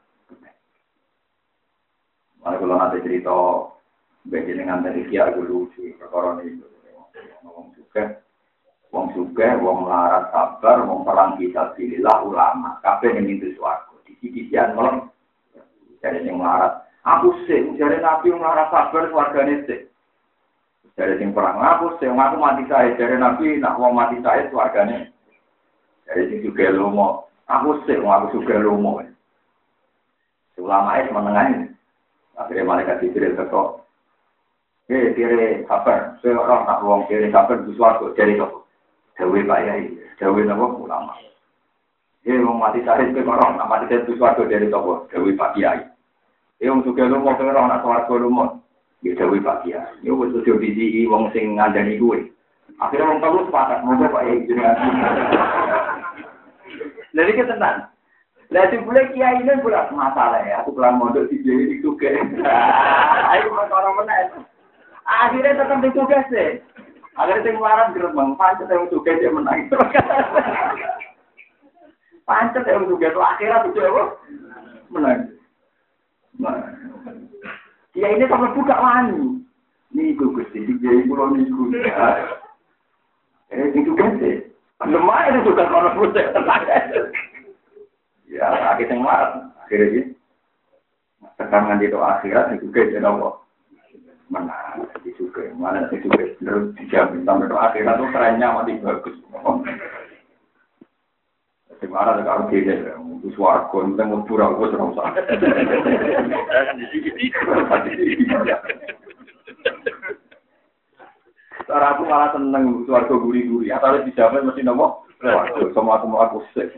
Speaker 2: Mari kalau nanti cerita begini dengan dari kia dulu si perkara itu. Wong suka, wong melarat sabar, wong perang kita pilihlah ulama. Kabeh yang itu suaraku. Di sisian malam jadi yang melarat. Aku sih, jadi Nabi melarat sabar wargane sih. Jadi sing perang aku sih, aku mati saya. Jadi Nabi nak wong mati saya wargane. Jadi sing juga lomo. Aku sih, aku juga lomo. Ulama es menengahin. Akhirnya malaikat Jibril ketok. Kiri sabar. Saya orang nak wong kiri sabar di suaraku. Jadi kok. Dewi Pak Yai. Dewi nama ulama. Wong mati saya itu orang nak mati saya di suaraku. Jadi kok. Dewi Pak Yai. Yang juga lu mau pengen nak suaraku lu mau. Ya Dewi Pak Yai. Ini betul divisi wong sing ngandani gue. Akhirnya wong tahu sepakat. Moga Pak Yai. Jadi kita tenang. Lagi boleh kiai ini bulat masalah ya. Aku pulang mondok di sini juga. Ayo orang menang. Akhirnya tetap ditugas deh. Akhirnya sing waran gerbang pancet yang tugas dia menang. Pancet yang tugas akhirnya tuh apa? Menang. Kiai ini sampai buka wani. Nih gugus di kiai pulau niku. Ditugas deh. Lemah itu juga orang putih. Ya, akhirnya yang marah. Akhirnya tekangan di doa akhirat itu juga jadi Allah. Mana itu juga. Mana itu juga. Terus dijamin sampai doa akhirat itu kerennya mati bagus. Jadi marah kalau dia itu suarga. Itu mau pura-pura serang sana. Cara aku malah seneng suarga guri-guri. Atau dijamin mesti nomor. Semua aku sih.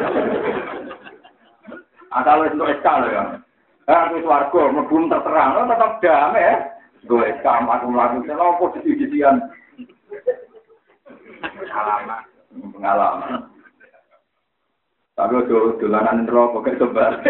Speaker 2: Asal itu SK loh ya. Aku swarga mlebu terterang, tetap damai ya. Gue SK aku mlaku lha opo dadi-dadian. Pengalaman. Tapi dolanan neraka kok coba.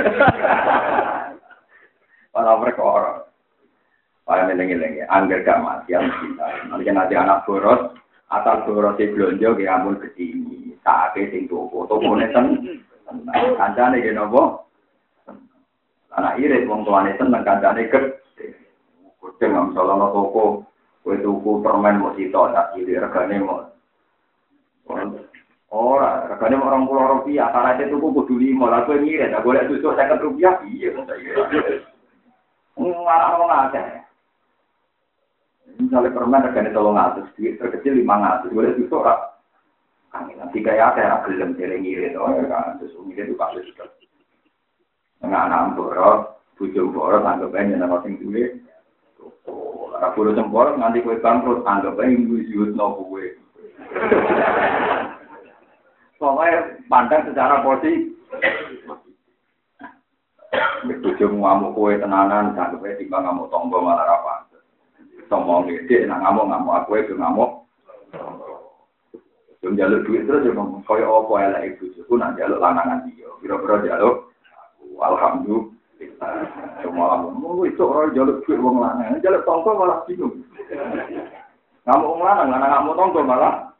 Speaker 2: Para perkara. Para meneng-meneng angger gak mati kita. Nanti anak boros, asal boros blonjo ki ampun gedhi. Saake sing toko-tokone kancane ki napa? Anak irit wong tuane seneng kancane gedhe. Gedhe nang salana toko, kowe tuku permen mok sitok sak kiri regane mok. Ora, regane mok Rp20, tarate tuku kudu 5, lha kowe ngirit, tak golek susuk Rp50 piye kok saiki. Ora wong akeh. Misalnya permen regane 300, terkecil 500, golek susuk ora. Nanti kayak ada gelem ngirit, oh ya kan, terus ngirit itu kasus juga. Anak boros, bujung boros, anggap aja nama sing duwe. Kalau boros boros nanti kue bangkrut, anggap aja ngusut no kue. Pokoknya pandang secara positif. Bujung ngamuk kue tenanan, anggap aja timbang ngamuk tonggo malah rapat. Tonggo ngede, nak ngamuk kue itu ngamuk. Jom jaluk duit terus, jom kaya apa elek ibu suku, nak jaluk lanangan dia. Biro-biro jaluk. Alhamdulillah. Semua mau itu orang jaluk duit wong lanang, jaluk tonggo malah bingung. Ngamuk lanang ngamuk tonggo malah.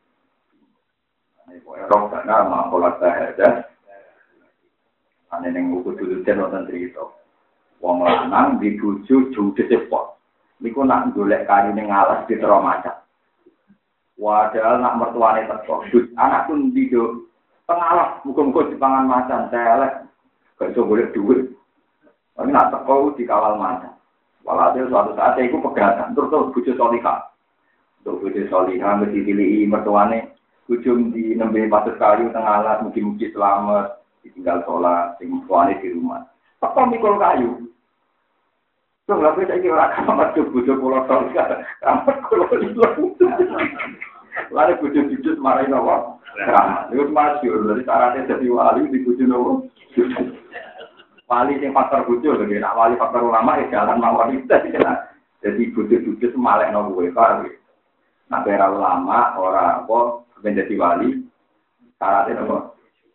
Speaker 2: Ini kok erok dana makolat sahaja. Ane ning buku dulu ten wonten crito. Wong lanang dibujuk judes sepot. Niku nak golek kayu ning alas ditero macet. Padahal nak mertuane teko. Anakku ndido pengalas muga-muga dipangan macan telek. Gak iso golek duit. Tapi nak teko dikawal macan. Walhasil suatu saat iku pegatan terus bojo solihah. Untuk bojo solihah mesti dipilih mertuane ujung di nembe patut kayu tengah alas mugi-mugi selamat ditinggal sholat sing mertuane di rumah. Teko mikul kayu. Tuh lha saiki ora kamar bojo kula solihah. Kamar kula ilang. Lalu bojo-bojo marahin apa? Keramat. Itu masyhur dari syaratnya jadi wali di bojo nopo. Wali sing faktor bojo lho, nek wali faktor ulama ya jalan mawon itu. Jadi bojo-bojo semalekno kowe kok. Nah, era ulama ora apa menjadi wali syaratnya apa?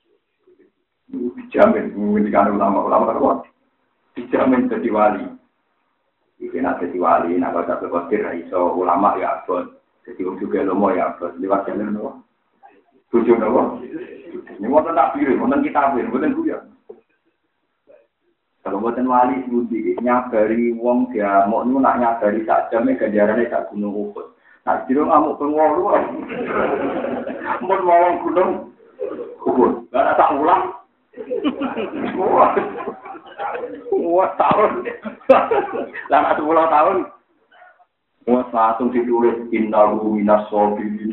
Speaker 2: Dijamin menjadi ulama apa? Dijamin jadi wali. Iki nek jadi wali nek ora berpikir iso ulama ya abot. Jadi wong juga lomo ya abot liwat jalan nopo. Bojo nopo? Ini wonten takbir, wonten kitab, wonten guyon. Kalau wonten wali budi nyabari wong dia mau nak nyabari sak jame ganjarane sak gunung Uhud. Nah, jero ngamuk pengwolu. Mun wong gunung Uhud. Lah tak ulang. Wah, tahun. Lah 10 tahun. Wah, langsung ditulis innahu minas sabirin.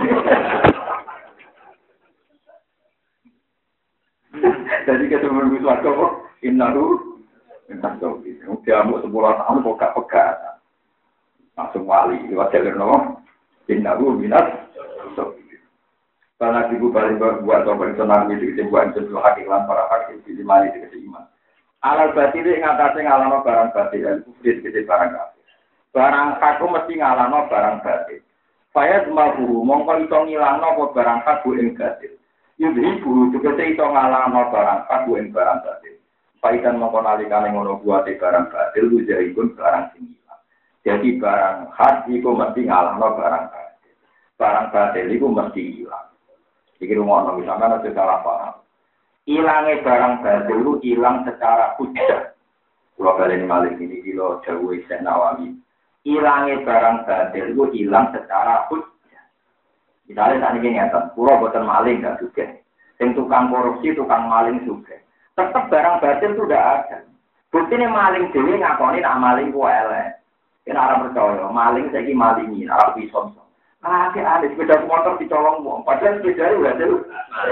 Speaker 2: Jadi ketemu suatu kok innahu minas sabirin. Dia mau 10 tahun kok gak pegat. Langsung wali lewat jalur nopo innahu minas sabirin. Karena ibu balik buat orang senang itu buat sesuatu hakikat para hakim di mana itu iman. Alal batil ing atase ngalano barang batil, kufri tegese barang kafir. Barang hak mesti ngalano barang batil. Saya cuma guru mongko iso ngilangno apa barang hak ing batil. Yudhi guru tegese iso ngalano barang hak ing barang batil. Paikan mongko nalikane ngono buate barang batil lujaripun barang sing ilang. Jadi barang hak iku mesti ngalano barang batil. Barang batil iku mesti ilang. Iki rumono misalkan ada salah paham. Ilangnya barang batil itu hilang secara hujjah. Kalau kalian malik ini kilo jauh Syekh Nawawi. Ilangnya barang batil itu hilang secara hujjah. Misalnya saat ini nyata, pulau buatan maling nggak juga. Yang tukang korupsi, tukang maling juga. Tetap barang batil itu udah ada. Buktinya maling dewi ngakoni nak maling ku elek. Kena orang percaya, maling saya malingi, orang pisau. Ada sepeda motor dicolong uang. Padahal sepeda itu udah jelas.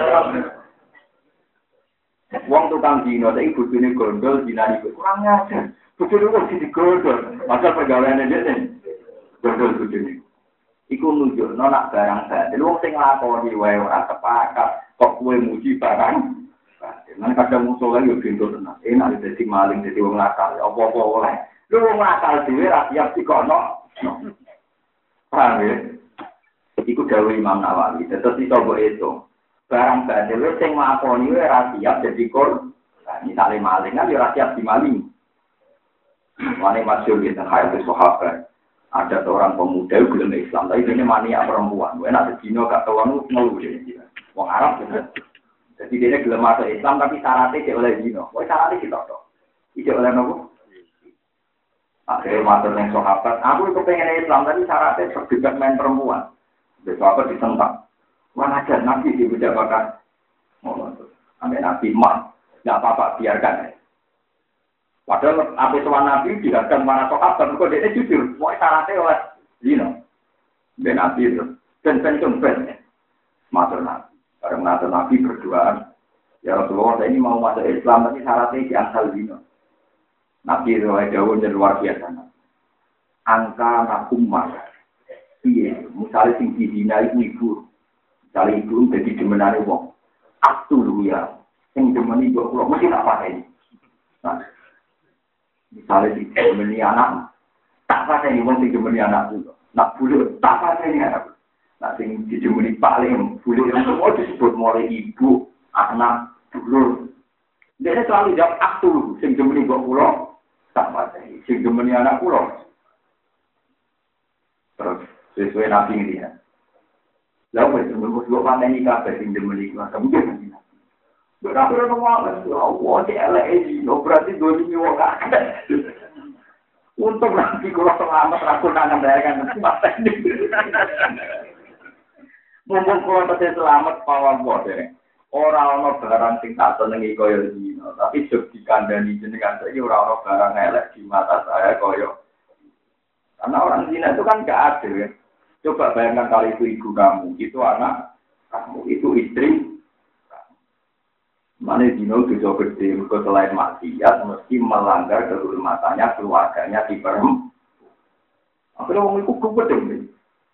Speaker 2: Wong tukang dino, tapi bujune gondol, dina itu kurang ngajar. Bujune kok jadi gondol. Masa pegawaiannya dia nih, gondol bujune. Iku nunjuk, nak barang batil. Wong sing nglakoni wae ora sepakat, kok kowe muji barang. Nang kadang musuh lagi pintu tenan. Enak dadi maling, dadi wong nakal. Apa-apa oleh. Lu wong nakal dhewe ra siap dikono. Paham ya? Iku dawuh Imam Nawawi. Terus iso mbok itu. Barang batil sing nglakoni wae ora siap dadi kor. Misale maling kan ora siap dimaling. Mane masyhur di tengah itu sahabat. Ada seorang pemuda yang belum Islam, tapi ini mania perempuan. Enak sedino gak tahu ngeluh dia. Wong Arab juga. Jadi dia belum masuk Islam, tapi syaratnya dia oleh dino. Wah syaratnya kita toh. Dia oleh nopo. Akhirnya masuk yang sahabat. Aku itu pengen Islam, tapi syaratnya terdekat main perempuan. Sahabat ditentang. Wah aja nabi di budak bakar. Ambil nabi mah, nggak apa-apa biarkan. Padahal apa tuan nabi dihadang mana sahabat, kok dia jujur. Mau syaratnya oleh zino, ben nabi itu, ben masuk nabi. Bareng masuk nabi berdoa. Ya Rasulullah, saya ini mau masuk Islam, tapi syaratnya diangkal zino. Nabi itu jauhnya luar biasa. Angka nakumah. Iya, misalnya sing dihina itu ibu. Misalnya ibu jadi demenane wong. Aktu dulu ya. Yang demeni ibu kula mesti tak pateni. Nah. Misalnya di demeni anak, tak pateni wong sing demeni anak itu. Nak bulu tak pateni anak. Nah sing dijemeni paling bulu yang semua disebut mulai ibu, anak, dulur. Dia selalu jawab aktu sing demeni ibu kula tak pateni. Sing demeni anak kula. Terus sesuai nabi ini ya. Lalu menurut pandai kabeh sing demeni kuwi kemudian. Berapa orang ngomong, Allah CLE, berarti 2 wong akeh. Untuk nanti kalau selamat rakun tangan daerah kan mata ini. Mumpung kalau pasti selamat pawang bodoh. Orang barang sing tak senengi koyo dino, tapi jog dikandani jenengan saiki ora barang elek di mata saya koyo. Karena orang zina itu kan gak adil ya. Coba bayangkan kalau itu ibu kamu, itu anak kamu, itu istri kamu. Mana zina itu jauh gede, selain maksiat, mesti melanggar kehormatannya, keluarganya di perempuan. Akhirnya orang itu gede.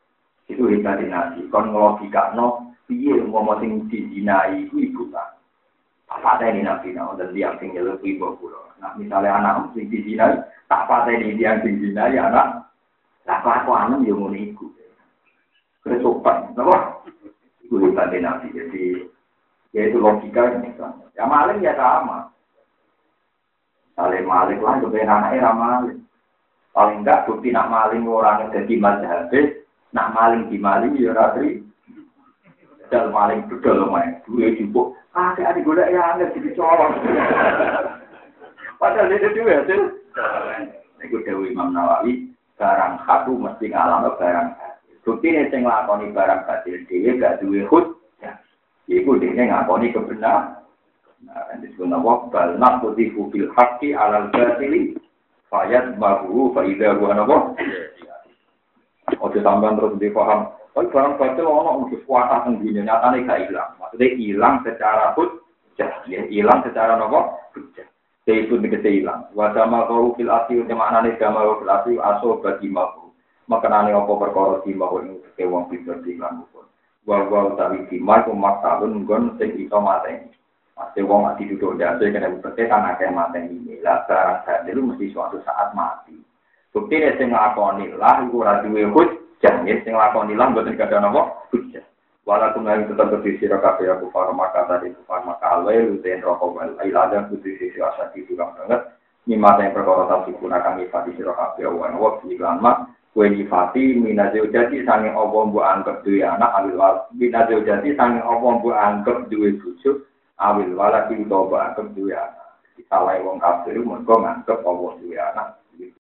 Speaker 2: Itu hebatnya Nabi. Kon ngelogikakno piye umpama sing dizinai iku ibu ta. Tak pateni Nabi nang dan dia sing nyeluk ibu kula. Nah, misalnya anak sing dizinai, tak pateni dia sing dizinai anak. Lah kelakuan yo ngono iku. Kesopan, napa? Iku hebatnya Nabi. Jadi ya itu logika yang misalnya. Ya maling ya sama. Saling maling lah kebenaran era maling. Paling enggak bukti nak maling orang jadi mazhab, nak maling di maling ya ratri. Dal maling bedol main, duwe jupuk. Ada golek ya angel dicolong. Padahal itu duwe hasil. Iku dewe Imam Nawawi, barang satu mesti ngalami barang. Bukti nek sing nglakoni barang batil dhewe gak duwe hujjah. Iku dene ngakoni kebenaran. Nah, disebut nama bal naqdifu bil haqqi 'alal batili fayat bahu faida gua napa? Oke tambahan terus dipaham. Oh barang batil ono mesti kuatah teng dunya nyatane gak ilang. Maksudnya hilang secara hujjah, ya hilang secara napa? Hujjah. Itu tegese ilang. Wa sama qaul fil asli maknane sama fil asli aso bagi mahu. Makanane apa perkara di mahu ing wong pinter dilan pun. Wa utawi di mahu maktahun nggon sing iso mateni. Pasti wong mati duduk jatuh kena bukti kan akeh mateni lah barang sadelu mesti suatu saat mati. Bukti nek sing nglakoni lah iku ora duwe hujjah, sing nglakoni lah mboten kada napa hujjah. Walaupun yang tetap berdiri kabeh aku farmaka tadi farmaka alwe uten rokok wal ilada putri sisi asati juga banget. Mimma yang perkara tadi gunakan ifati sira kabeh wan waktu iklan mak kue ifati minazil jadi sange apa mbok anggap duwe anak awil minazil jadi sange apa mbok anggap duwe bojo awil wala ki utawa anggap duwe anak. Salah wong kafir mergo nganggep apa duwe anak.